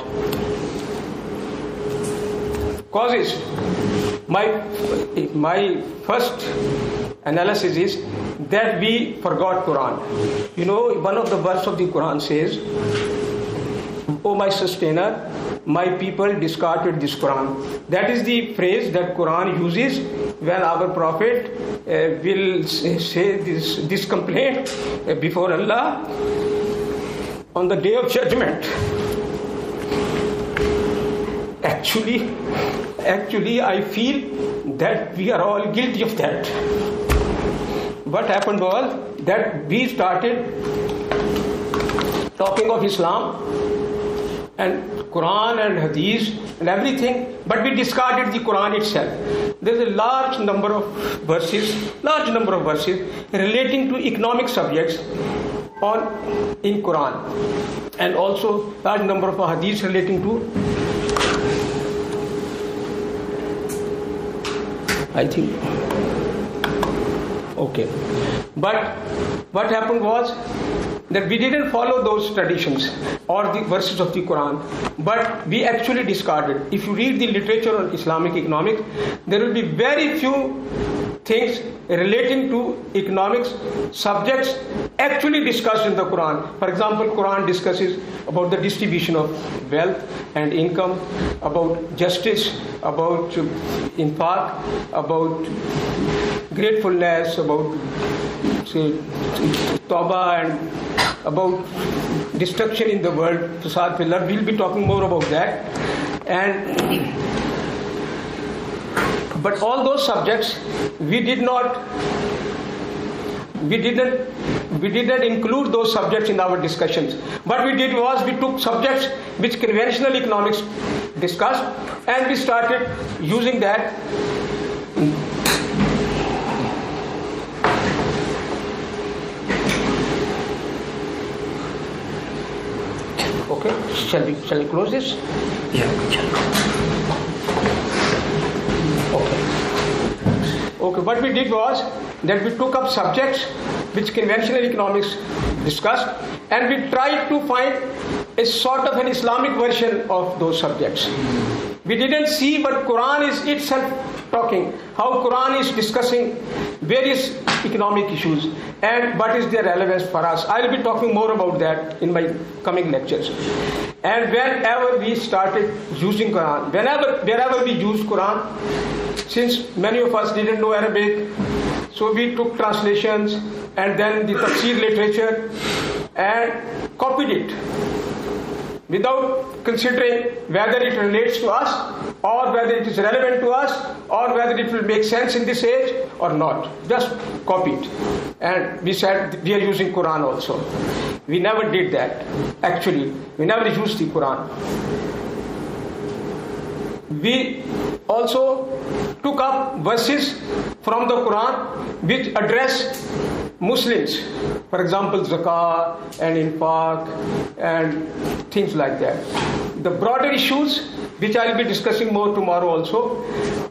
Causes. My first analysis is that we forgot Quran. You know, one of the verses of the Quran says, "O my sustainer, my people discarded this Quran." That is the phrase that Quran uses when our Prophet will say this complaint before Allah on the day of judgment. Actually, I feel that we are all guilty of that. What happened was that we started talking of Islam and Quran and Hadith and everything, but we discarded the Quran itself. There is a large number of verses relating to economic subjects in Quran, and also large number of Hadiths relating to, I think. Okay. But what happened was that we didn't follow those traditions or the verses of the Quran, but we actually discarded. If you read the literature on Islamic economics, there will be very few things relating to economics subjects actually discussed in the Quran. For example, Quran discusses about the distribution of wealth and income, about justice, about infaq, about gratefulness, about tawbah, and about destruction in the world, fasad fil ard. We'll be talking more about that. But all those subjects we didn't include those subjects in our discussions. What we did was we took subjects which conventional economics discussed, and we started using that. Okay, shall we close this? Yeah. Okay, what we did was that we took up subjects which conventional economics discussed, and we tried to find a sort of an Islamic version of those subjects. We didn't see what Quran is itself talking, how Quran is discussing various economic issues and what is their relevance for us. I'll be talking more about that in my coming lectures. And whenever we started using Quran, wherever we used Quran, since many of us didn't know Arabic, so we took translations and then the tafsir literature and copied it without considering whether it relates to us or whether it is relevant to us or whether it will make sense in this age or not. Just copied. And we said we are using Quran also. We never did that. Actually, we never used the Quran. We also took up verses from the Quran which address Muslims. For example, zakah and infaq and things like that. The broader issues, which I will be discussing more tomorrow also,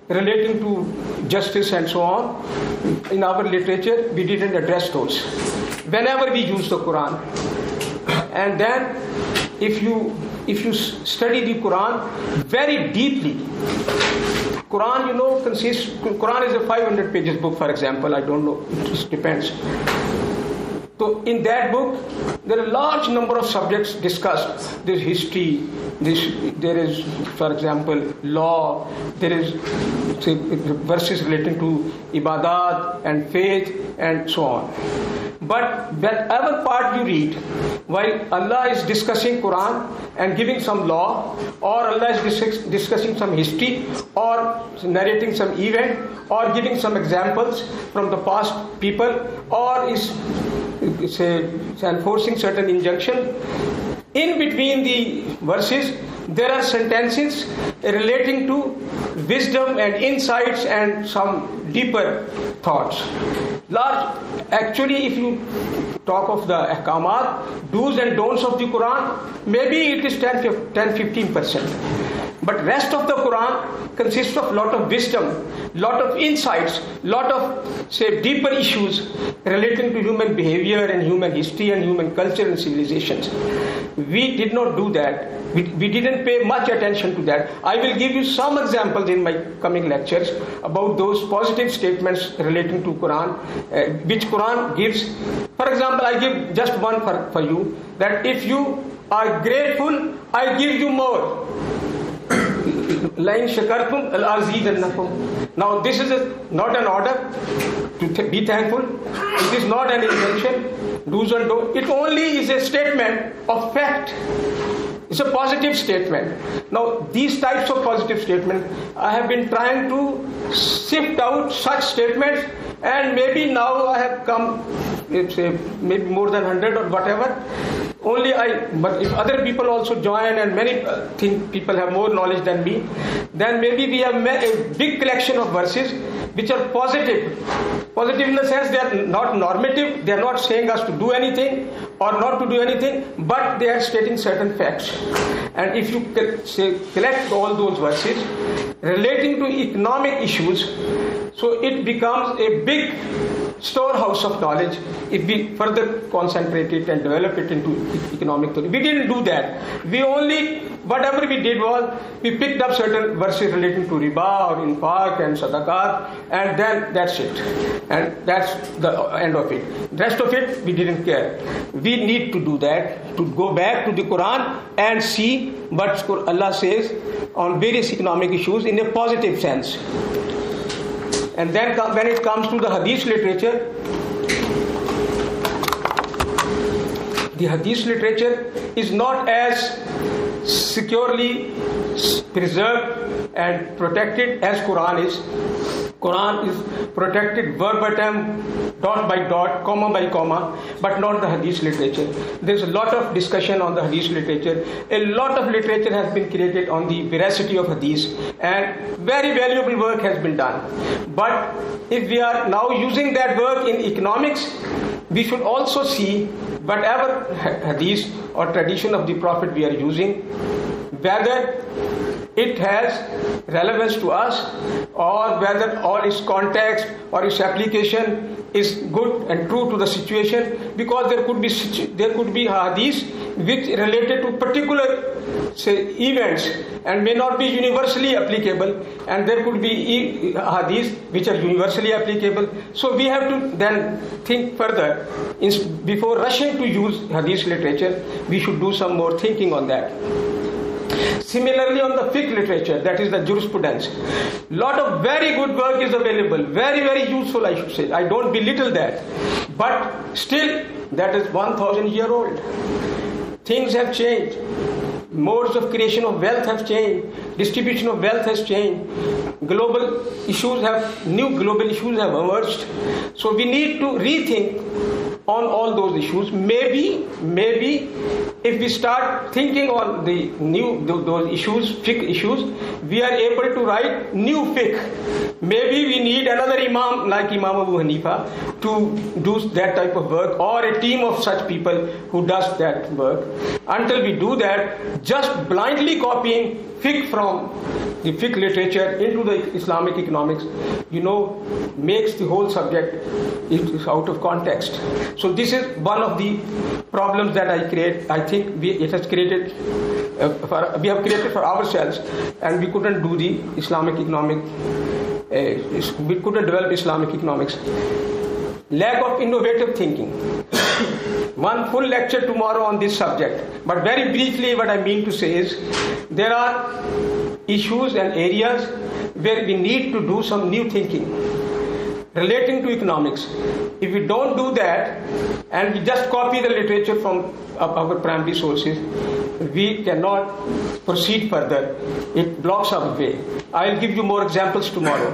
relating to justice and so on, in our literature, we didn't address those. Whenever we use the Quran, and then if you study the Quran very deeply, Quran, Quran is a 500 pages book, for example. I don't know, it just depends. So in that book, there are a large number of subjects discussed. There is history, there is, for example, law, there is verses relating to ibadat and faith and so on. But whatever part you read, while Allah is discussing Quran and giving some law, or Allah is discussing some history, or narrating some event, or giving some examples from the past people, or is enforcing certain injunction, in between the verses there are sentences relating to wisdom and insights and some deeper thoughts. Actually, if you talk of the ahkamat, do's and don'ts of the Quran, maybe it is 10-15%. But rest of the Quran consists of lot of wisdom, lot of insights, lot of, deeper issues relating to human behavior and human history and human culture and civilizations. We did not do that. We didn't pay much attention to that. I will give you some examples in my coming lectures about those positive statements relating to Quran, which Quran gives. For example, I give just one for you, that if you are grateful, I give you more. Now this is not an order to be thankful. It is not an injunction, do's and don'ts. It only is a statement of fact. It's a positive statement. Now these types of positive statements, I have been trying to sift out such statements, and maybe now I have come, maybe more than 100 or whatever. But if other people also join, and many think people have more knowledge than me, then maybe we have a big collection of verses which are positive. Positive in the sense they are not normative, they are not saying us to do anything or not to do anything, but they are stating certain facts. And if you collect all those verses relating to economic issues, so it becomes a big storehouse of knowledge if we further concentrate it and develop it into economic theory. We didn't do that. Whatever we did was, we picked up certain verses relating to riba or infaq and sadaqat, and then that's it. And that's the end of it. Rest of it, we didn't care. We need to do that, to go back to the Quran and see what Allah says on various economic issues in a positive sense. And then when it comes to the hadith literature, the hadith literature is not as securely preserved and protected as Quran is. Quran is protected verbatim, dot by dot, comma by comma, but not the hadith literature. There's a lot of discussion on the hadith literature. A lot of literature has been created on the veracity of hadith, and very valuable work has been done. But if we are now using that work in economics, we should also see whatever hadith or tradition of the Prophet we are using, whether it has relevance to us, or whether all its context or its application is good and true to the situation, because there could be hadith which related to particular events and may not be universally applicable, and there could be hadith which are universally applicable. So we have to then think further. Before rushing to use hadith literature, we should do some more thinking on that. Similarly, on the fiqh literature, that is the jurisprudence, lot of very good work is available, very, very useful, I should say. I don't belittle that, but still that is 1,000-year-old. Things have changed. Modes of creation of wealth have changed. Distribution of wealth has changed. New global issues have emerged. So we need to rethink on all those issues. Maybe if we start thinking on the those issues, fiqh issues, we are able to write new fiqh. Maybe we need another imam like Imam Abu Hanifa to do that type of work, or a team of such people who does that work. Until we do that, just blindly copying fiqh from the fiqh literature into the Islamic economics, makes the whole subject out of context. So this is one of the problems that I think we have created for ourselves, and we couldn't do the Islamic economic. We couldn't develop Islamic economics. Lack of innovative thinking. One full lecture tomorrow on this subject, but very briefly what I mean to say is there are issues and areas where we need to do some new thinking relating to economics. If we don't do that and we just copy the literature from our primary sources, we cannot proceed further. It blocks our way. I'll give you more examples tomorrow.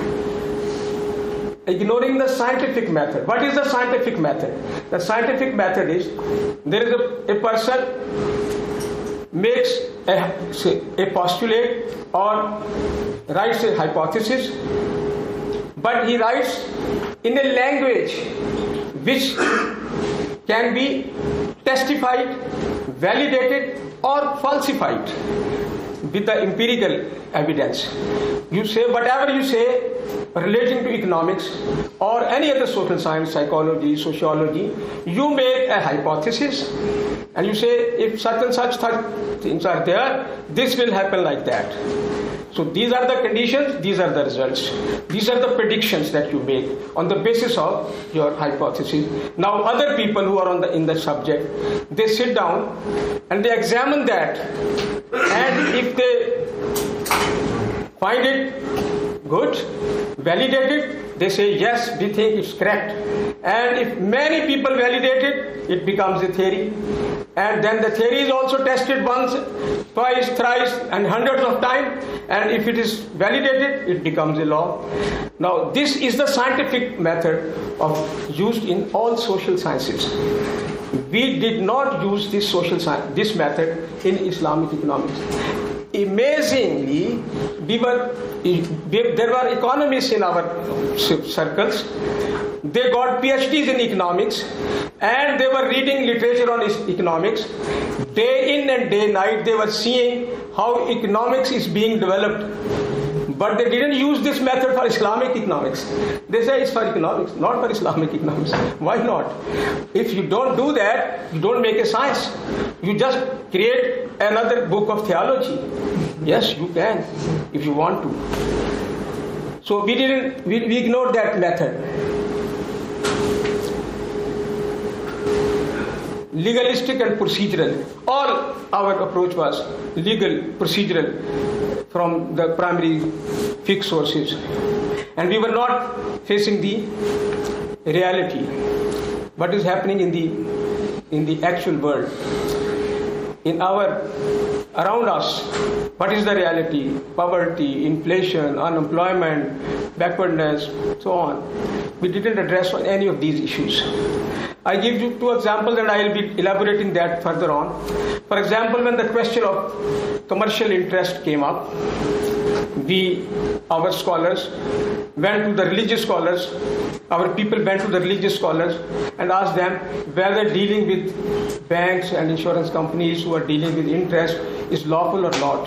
Ignoring the scientific method. What is the scientific method? The scientific method is there is a person makes a postulate or writes a hypothesis, but he writes in a language which can be testified, validated or falsified with the empirical evidence. You say whatever you say relating to economics or any other social science, psychology, sociology, you make a hypothesis and you say if such and such things are there, this will happen like that. So these are the conditions, these are the results. These are the predictions that you make on the basis of your hypothesis. Now other people who are in the subject, they sit down and they examine that, and if they find it good, validate it, they say yes, we think it's correct. And if many people validate it, it becomes a theory. And then the theory is also tested once, twice, thrice, and hundreds of times. And if it is validated, it becomes a law. Now, this is the scientific method used in all social sciences. We did not use this method in Islamic economics. Amazingly, there were economists in our circles. They got PhDs in economics and they were reading literature on economics. Day in and day night they were seeing how economics is being developed. But they didn't use this method for Islamic economics. They say it's for economics, not for Islamic economics. Why not? If you don't do that, you don't make a science. You just create another book of theology. Yes, you can, if you want to. So we ignored that method. Legalistic and procedural. All our approach was legal, procedural from the primary fiqh sources. And we were not facing the reality. What is happening in the actual world. Around us, what is the reality? Poverty, inflation, unemployment, backwardness, so on. We didn't address any of these issues. I give you two examples and I will be elaborating that further on. For example, when the question of commercial interest came up, our scholars went to the religious scholars, our people went to the religious scholars and asked them whether dealing with banks and insurance companies who are dealing with interest is lawful or not.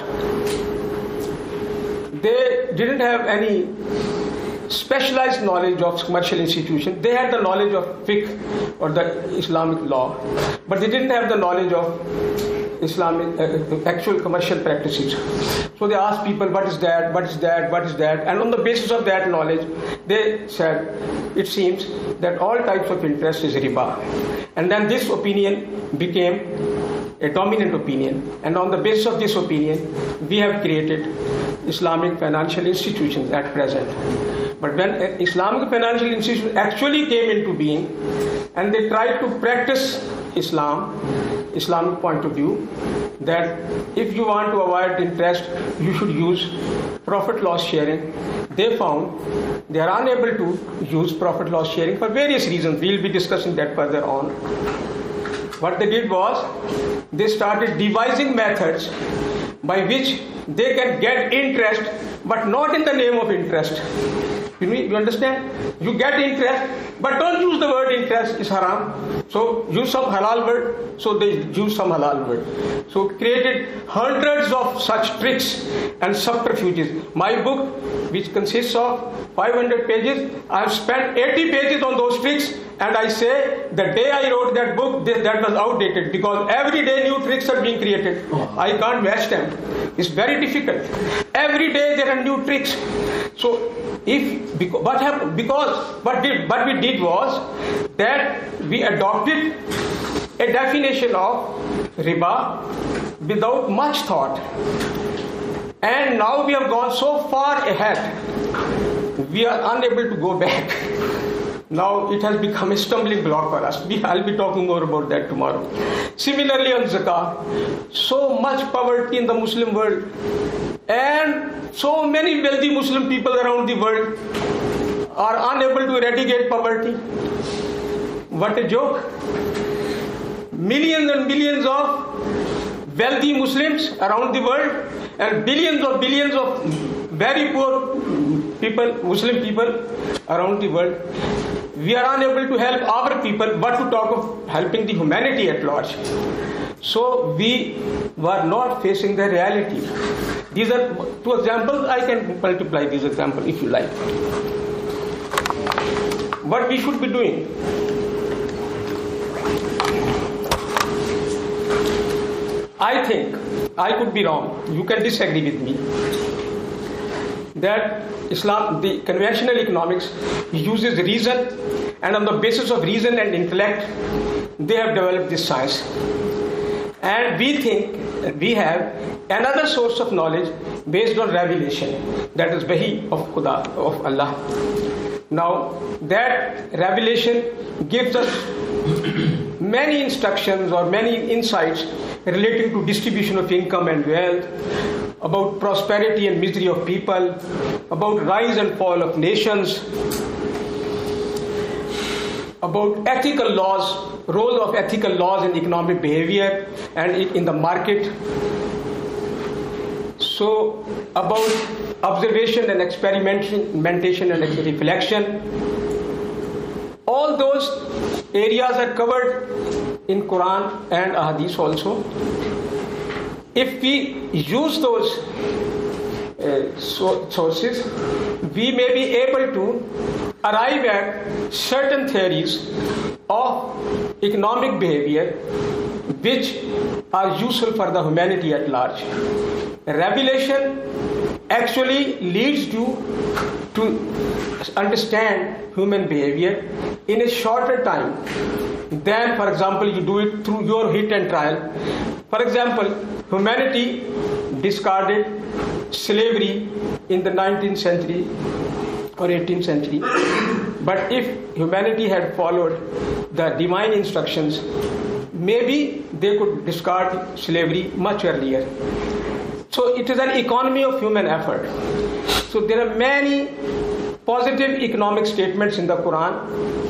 They didn't have any specialized knowledge of commercial institutions. They had the knowledge of fiqh or the Islamic law, but they didn't have the knowledge of Islamic actual commercial practices. So they asked people, what is that, what is that, what is that? And on the basis of that knowledge, they said, it seems that all types of interest is riba. And then this opinion became a dominant opinion. And on the basis of this opinion, we have created Islamic financial institutions at present. But when Islamic financial institutions actually came into being and they tried to practice Islamic point of view, that if you want to avoid interest, you should use profit loss sharing. They found they are unable to use profit loss sharing for various reasons. We'll be discussing that further on. What they did was they started devising methods by which they can get interest, but not in the name of interest. You understand? You get interest, but don't use the word interest, is haram. So use some halal word. So they use some halal word. So created hundreds of such tricks and subterfuges. My book, which consists of 500 pages, I have spent 80 pages on those tricks, and I say the day I wrote that book, that was outdated, because every day new tricks are being created. I can't match them. It's very difficult. Every day there are new tricks. So what we did was that we adopted a definition of riba without much thought. And now we have gone so far ahead, we are unable to go back. Now it has become a stumbling block for us. I'll be talking more about that tomorrow. Similarly on zakah, so much poverty in the Muslim world, and so many wealthy Muslim people around the world are unable to eradicate poverty. What a joke. Millions and millions of wealthy Muslims around the world and billions of very poor people, Muslim people around the world. We are unable to help our people, but to talk of helping the humanity at large. So we were not facing the reality. These are two examples. I can multiply these examples if you like. What we should be doing? I think, I could be wrong, you can disagree with me, that Islam, the conventional economics, uses reason, and on the basis of reason and intellect, they have developed this science. And we think we have another source of knowledge based on revelation, that is wahi of Khuda, of Allah. Now, that revelation gives us many instructions or many insights relating to distribution of income and wealth, about prosperity and misery of people, about rise and fall of nations, about ethical laws, role of ethical laws in economic behavior and in the market. So about observation and experimentation and reflection. All those areas are covered in Quran and Ahadith also. If we use those sources, we may be able to arrive at certain theories of economic behavior which are useful for the humanity at large. Revelation actually leads you to understand human behavior in a shorter time than, for example, you do it through your hit and trial. For example, humanity discarded slavery in the 19th century or 18th century. But if humanity had followed the divine instructions, maybe they could discard slavery much earlier. So it is an economy of human effort. So there are many positive economic statements in the Quran.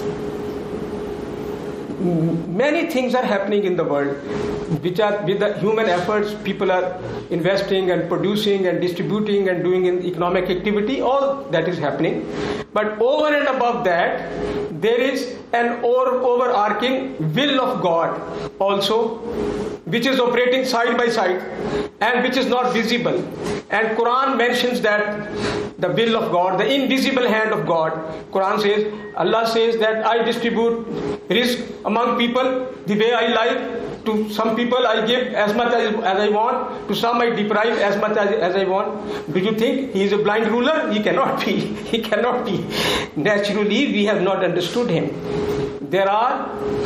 Many things are happening in the world which are with the human efforts. People are investing and producing and distributing and doing in economic activity. All that is happening. But over and above that, there is an overarching will of God also, which is operating side by side and which is not visible. And Quran mentions that the will of God, the invisible hand of God. Quran says, Allah says that I distribute risk among people the way I like. To some people I give as much as I want, to some I deprive as much as I want. Do you think he is a blind ruler? He cannot be. He cannot be. Naturally, we have not understood him. There are,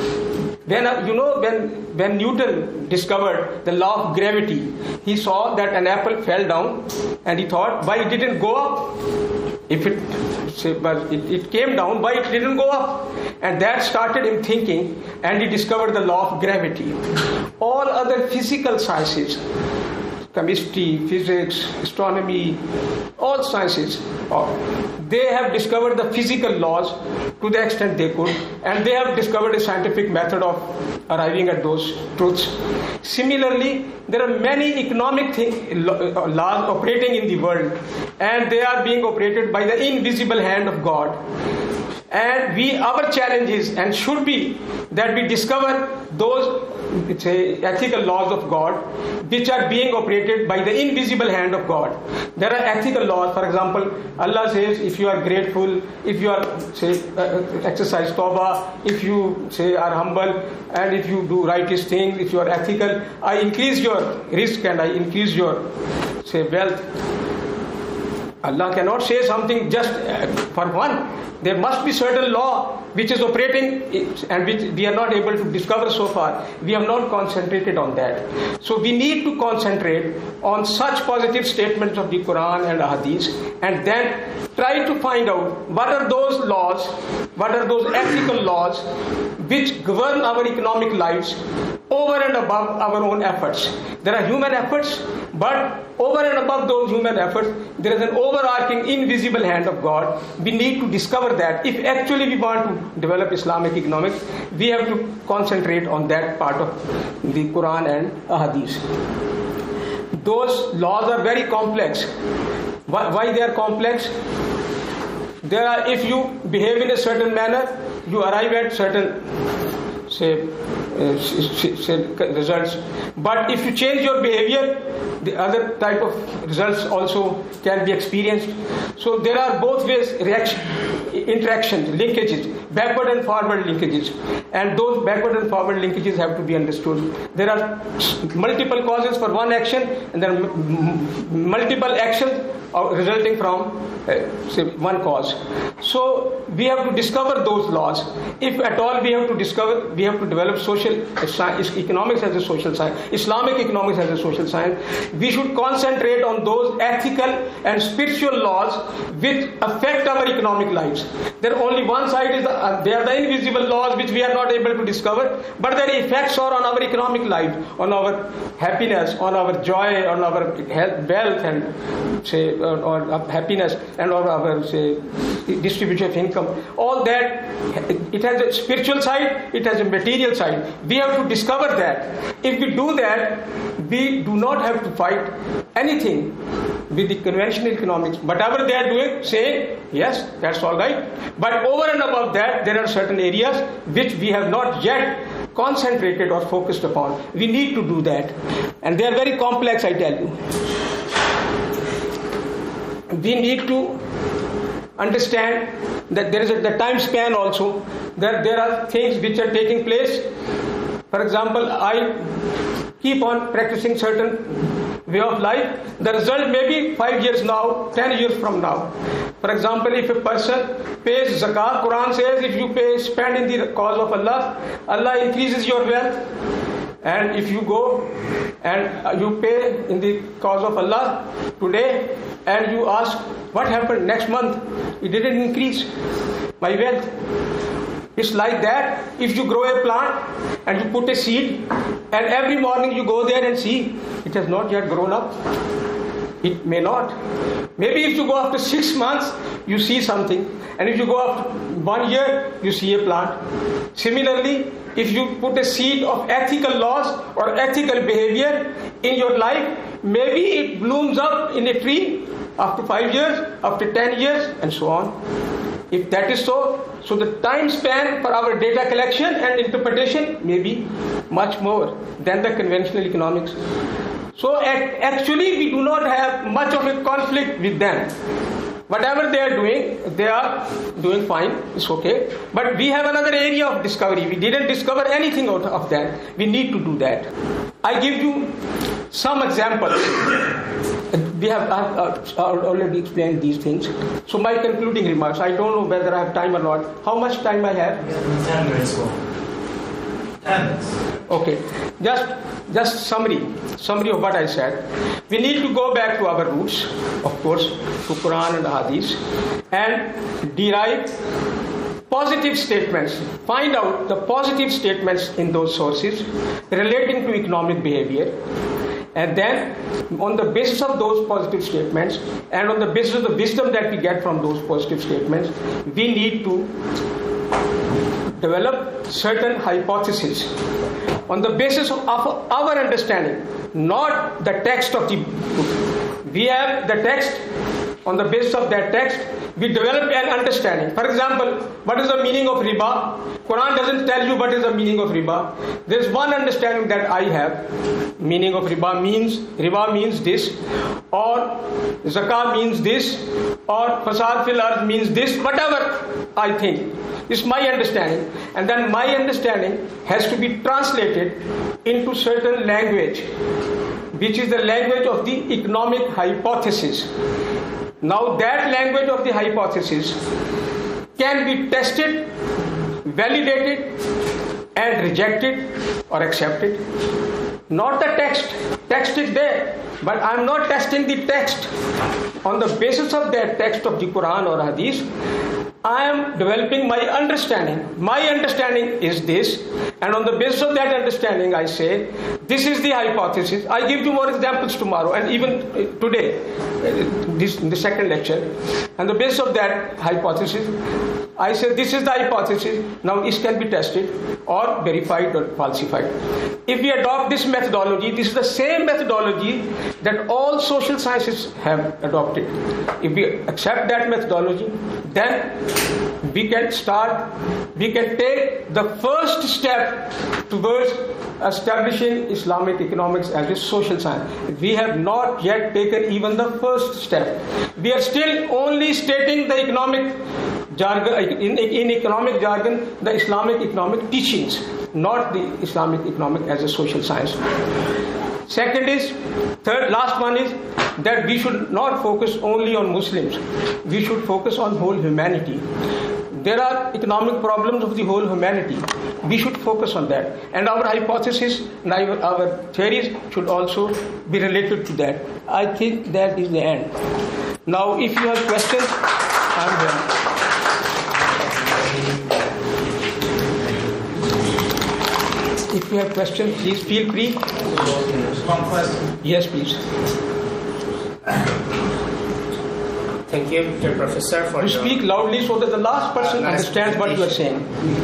when Newton discovered the law of gravity, he saw that an apple fell down and he thought, why it didn't go up? If it came down, why it didn't go up? And that started him thinking, and he discovered the law of gravity. All other physical sciences, chemistry, physics, astronomy, all sciences, they have discovered the physical laws to the extent they could, and they have discovered a scientific method of arriving at those truths. Similarly, there are many economic laws operating in the world, and they are being operated by the invisible hand of God. And our challenge is, and should be, that we discover those ethical laws of God which are being operated by the invisible hand of God. There are ethical laws. For example, Allah says, if you are grateful, if you are exercise tawbah, if you are humble, and if you do righteous things, if you are ethical, I increase your risk and I increase your wealth. Allah cannot say something just for one. There must be certain law which is operating and which we are not able to discover so far. We have not concentrated on that. So we need to concentrate on such positive statements of the Quran and Hadith, and then try to find out what are those laws, what are those ethical laws which govern our economic lives over and above our own efforts. There are human efforts, but over and above those human efforts, there is an overarching invisible hand of God. We need to discover that. If actually we want to develop Islamic economics, we have to concentrate on that part of the Quran and Hadith. Those laws are very complex. Why they are complex? If you behave in a certain manner, you arrive at certain results. But if you change your behavior, the other type of results also can be experienced. So there are both ways, interactions, linkages, backward and forward linkages, and those backward and forward linkages have to be understood. There are multiple causes for one action, and there are multiple actions resulting from one cause. So we have to discover those laws. If at all we have to develop economics as a social science, Islamic economics as a social science. We should concentrate on those ethical and spiritual laws which affect our economic lives. There only one side is they are the invisible laws which we are not able to discover, but their effects are on our economic life, on our happiness, on our joy, on our health, wealth, and or happiness, and on our distribution of income. All that, it has a spiritual side, it has a material side. We have to discover that. If we do that, we do not have to fight anything with the conventional economics. Whatever they are doing, saying, yes, that's all right. But over and above that, there are certain areas which we have not yet concentrated or focused upon. We need to do that. And they are very complex, I tell you. We need to understand that there is the time span also, that there are things which are taking place. For example, I keep on practicing certain way of life. The result may be 5 years now, 10 years from now. For example, if a person pays zakat, Quran says if you spend in the cause of Allah, Allah increases your wealth. And if you go and you pay in the cause of Allah today, and you ask, what happened next month? It didn't increase my wealth. It's like that. If you grow a plant and you put a seed, and every morning you go there and see, it has not yet grown up. It may not. Maybe if you go after 6 months, you see something. And if you go after 1 year, you see a plant. Similarly, if you put a seed of ethical laws or ethical behavior in your life, maybe it blooms up in a tree after 5 years, after 10 years, and so on. If that is so the time span for our data collection and interpretation may be much more than the conventional economics. So actually we do not have much of a conflict with them. Whatever they are doing fine, it's okay. But we have another area of discovery. We didn't discover anything out of that. We need to do that. I give you some examples. We have already explained these things. So my concluding remarks, I don't know whether I have time or not. How much time I have? 10 minutes more. Okay, just summary of what I said. We need to go back to our roots, of course, to Quran and Hadith, and derive positive statements. Find out the positive statements in those sources relating to economic behavior. And then, on the basis of those positive statements and on the basis of the wisdom that we get from those positive statements, we need to develop certain hypotheses on the basis of our understanding, not the text of the book. We have the text. On the basis of that text, we develop an understanding. For example, what is the meaning of riba? Quran doesn't tell you what is the meaning of riba. There is one understanding that I have. Meaning of riba means this, or zakah means this, or fasad fil ard means this. Whatever I think is my understanding, and then my understanding has to be translated into certain language, which is the language of the economic hypothesis. Now that language of the hypothesis can be tested, validated, and rejected or accepted. Not the text. Text is there, but I am not testing the text. On the basis of that text of the Quran or Hadith, I am developing my understanding. My understanding is this, and on the basis of that understanding, I say, this is the hypothesis. I give you more examples tomorrow, and even today, in the second lecture. On the basis of that hypothesis, I say this is the hypothesis. Now it can be tested or verified or falsified. If we adopt this methodology, this is the same methodology that all social sciences have adopted. If we accept that methodology, then we can take the first step towards establishing Islamic economics as a social science. We have not yet taken even the first step. We are still only stating the economic jargon, in economic jargon, the Islamic economic teachings, not the Islamic economic as a social science. Last one is that we should not focus only on Muslims. We should focus on whole humanity. There are economic problems of the whole humanity. We should focus on that. And our hypothesis and our theories should also be related to that. I think that is the end. Now, if you have questions, I am there. If you have questions, please feel free. One question. Yes, please. Thank you, Mr. Professor, for You speak loudly so that the last person understands what you are saying.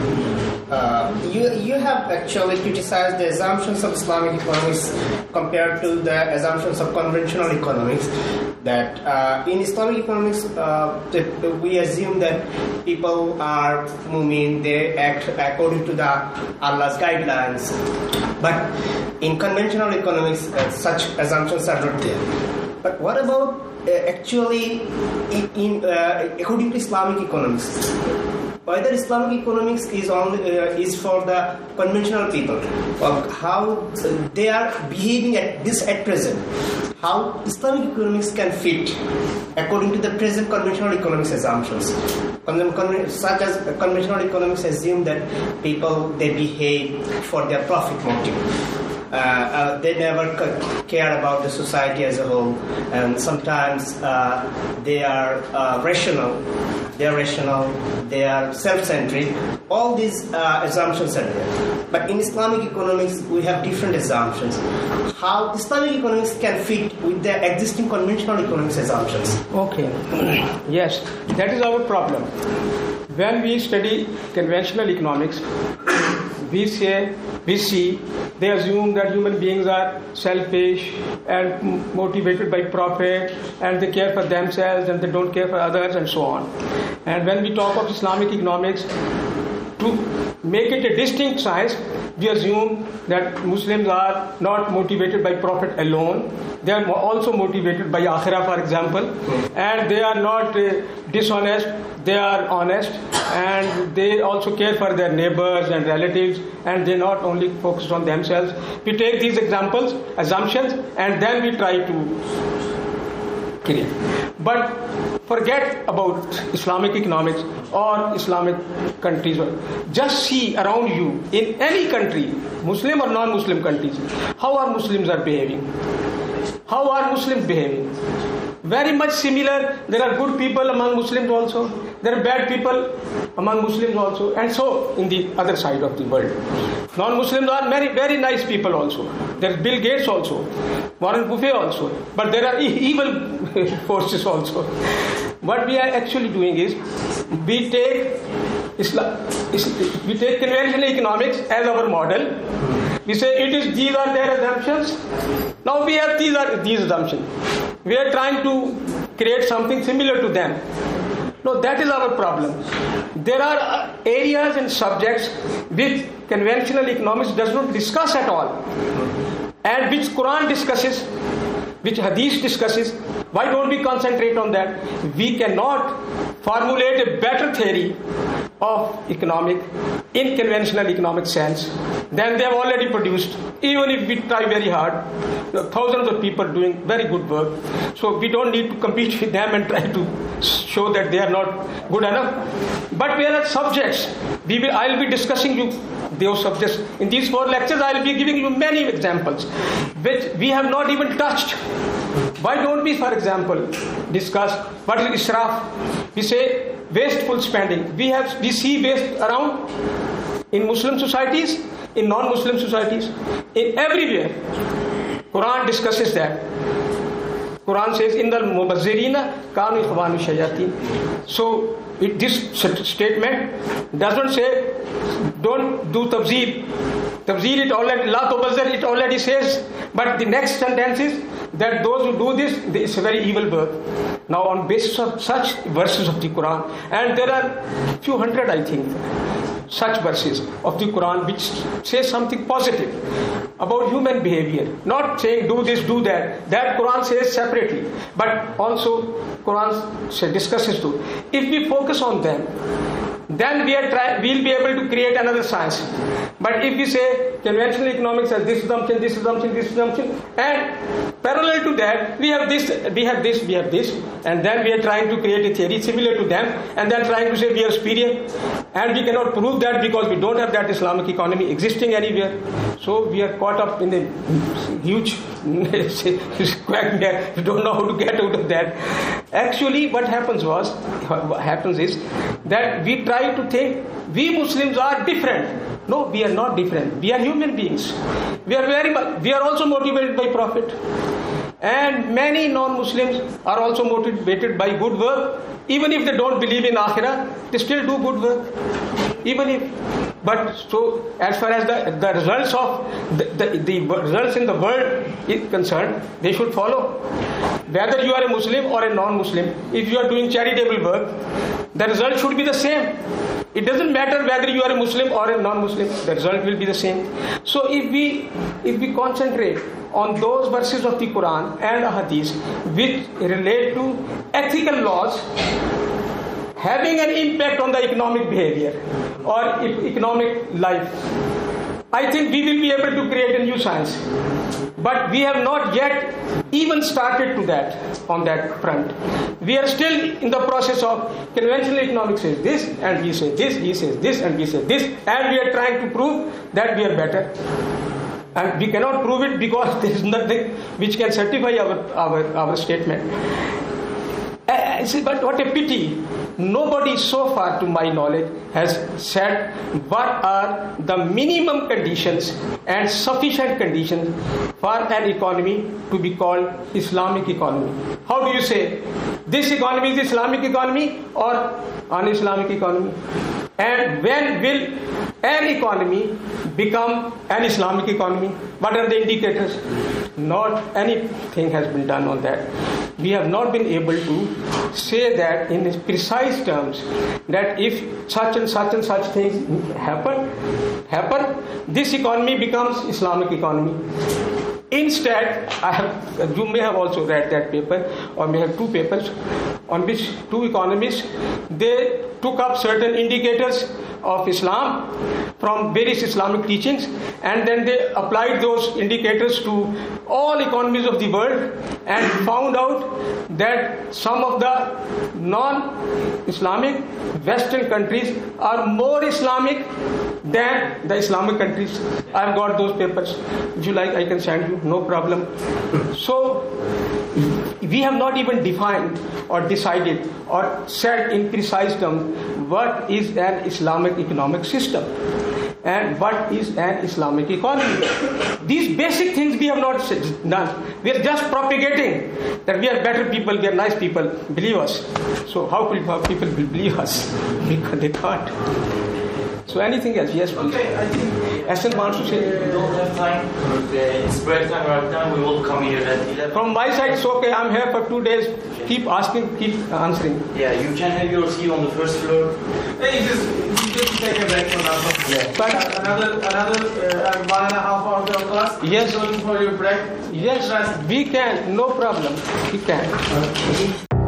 You have actually criticized the assumptions of Islamic economics compared to the assumptions of conventional economics. That in Islamic economics, we assume that people are moving, they act according to the Allah's guidelines. But in conventional economics, such assumptions are not there. But what about actually according to Islamic economics? Whether Islamic economics is for the conventional people, or how they are behaving at present, how Islamic economics can fit according to the present conventional economics assumptions. Such as conventional economics assume that people, they behave for their profit motive. They never care about the society as a whole, and sometimes they are rational. They are self-centric. All these assumptions are there. But in Islamic economics, we have different assumptions. How Islamic economics can fit with the existing conventional economics assumptions? Okay. Yes, that is our problem. When we study conventional economics, we see they assume that human beings are selfish and motivated by profit, and they care for themselves and they don't care for others, and so on. And when we talk of Islamic economics, to make it a distinct science, we assume that Muslims are not motivated by profit alone. They are also motivated by akhirah, for example, and they are not dishonest, they are honest, and they also care for their neighbors and relatives, and they not only focus on themselves. We take these assumptions, and then we try to create. But forget about Islamic economics or Islamic countries. Just see around you in any country, Muslim or non-Muslim countries, how are Muslims are behaving? How are Muslims behaving? Very much similar. There are good people among Muslims also. There are bad people among Muslims also. And so in the other side of the world. Non-Muslims are very, very nice people also. There is Bill Gates also. Warren Buffett also. But there are evil forces also. What we are actually doing is we take conventional economics as our model. We say these are their assumptions. Now we have these assumptions. We are trying to create something similar to them. No, that is our problem. There are areas and subjects which conventional economics does not discuss at all, and which Quran discusses, which Hadith discusses. Why don't we concentrate on that? We cannot formulate a better theory of economic in conventional economic sense than they have already produced. Even if we try very hard, thousands of people doing very good work. So we don't need to compete with them and try to show that they are not good enough. But whereas subjects, I'll be discussing you those subjects. In these 4 lectures, I'll be giving you many examples which we have not even touched. Why don't we, for example, discuss what is israf? We say wasteful spending. We see waste around in Muslim societies, in non-Muslim societies, in everywhere. Quran discusses that. Quran says, "Innal mubazzirina kanu ikhwanu shayatin." So this statement doesn't say don't do tabzir. Tabzir it already, la tubazzir it already says. But the next sentence is that those who do this, it's a very evil work. Now on basis of such verses of the Quran, and there are few hundred, I think, such verses of the Quran which say something positive about human behavior. Not saying do this, do that. That Quran says separately. But also Quran discusses too. If we focus on them, then we'll be able to create another science. But if we say conventional economics has this assumption, this assumption, this assumption, and parallel to that, we have this, and then we are trying to create a theory similar to them, and then trying to say we are superior, and we cannot prove that because we don't have that Islamic economy existing anywhere. So we are caught up in a huge quagmire. We don't know how to get out of that. Actually, what happens is that we try to think we Muslims are different. No, we are not different. We are human beings. We are also motivated by profit. And many non-Muslims are also motivated by good work. Even if they don't believe in Akhirah, they still do good work. But so as far as the results of the results in the world is concerned, they should follow. Whether you are a Muslim or a non-Muslim, if you are doing charitable work, the result should be the same. It doesn't matter whether you are a Muslim or a non-Muslim, the result will be the same. So if we concentrate on those verses of the Quran and Hadith which relate to ethical laws having an impact on the economic behavior or economic life, I think we will be able to create a new science. But we have not yet even started to that on that front. We are still in the process of conventional economics says this, and we say this, he says this, and we say this, and we are trying to prove that we are better. And we cannot prove it because there is nothing which can certify our statement. But what a pity. Nobody so far to my knowledge has said what are the minimum conditions and sufficient conditions for an economy to be called Islamic economy. How do you say this economy is Islamic economy or un-Islamic economy? And when will an economy become an Islamic economy? What are the indicators? Not anything has been done on that. We have not been able to say that in precise terms that if such and such and such things happen, this economy becomes Islamic economy. Instead, you may have also read that paper, or may have two papers on which two economists, they took up certain indicators of Islam from various Islamic teachings, and then they applied those indicators to all economies of the world and found out that some of the non-Islamic Western countries are more Islamic than the Islamic countries. I've got those papers. If you like, I can send you, no problem. So we have not even defined or decided or said in precise terms what is an Islamic economic system and what is an Islamic economy. These basic things we have not done. We are just propagating that we are better people, we are nice people. Believe us. So how could people believe us? Because they can't. So anything else? Yes, please. Okay, I think Hassan wants to say. We don't have time. It's break time right now. We will come here at 11. From my side, it's okay. I'm here for 2 days. Keep asking, keep answering. Yeah, you can have your seat on the first floor. hey, just take a break for now. Yeah. But Another 1.5 hours of class. Yes. Going for your break. yes, we can. No problem. We can.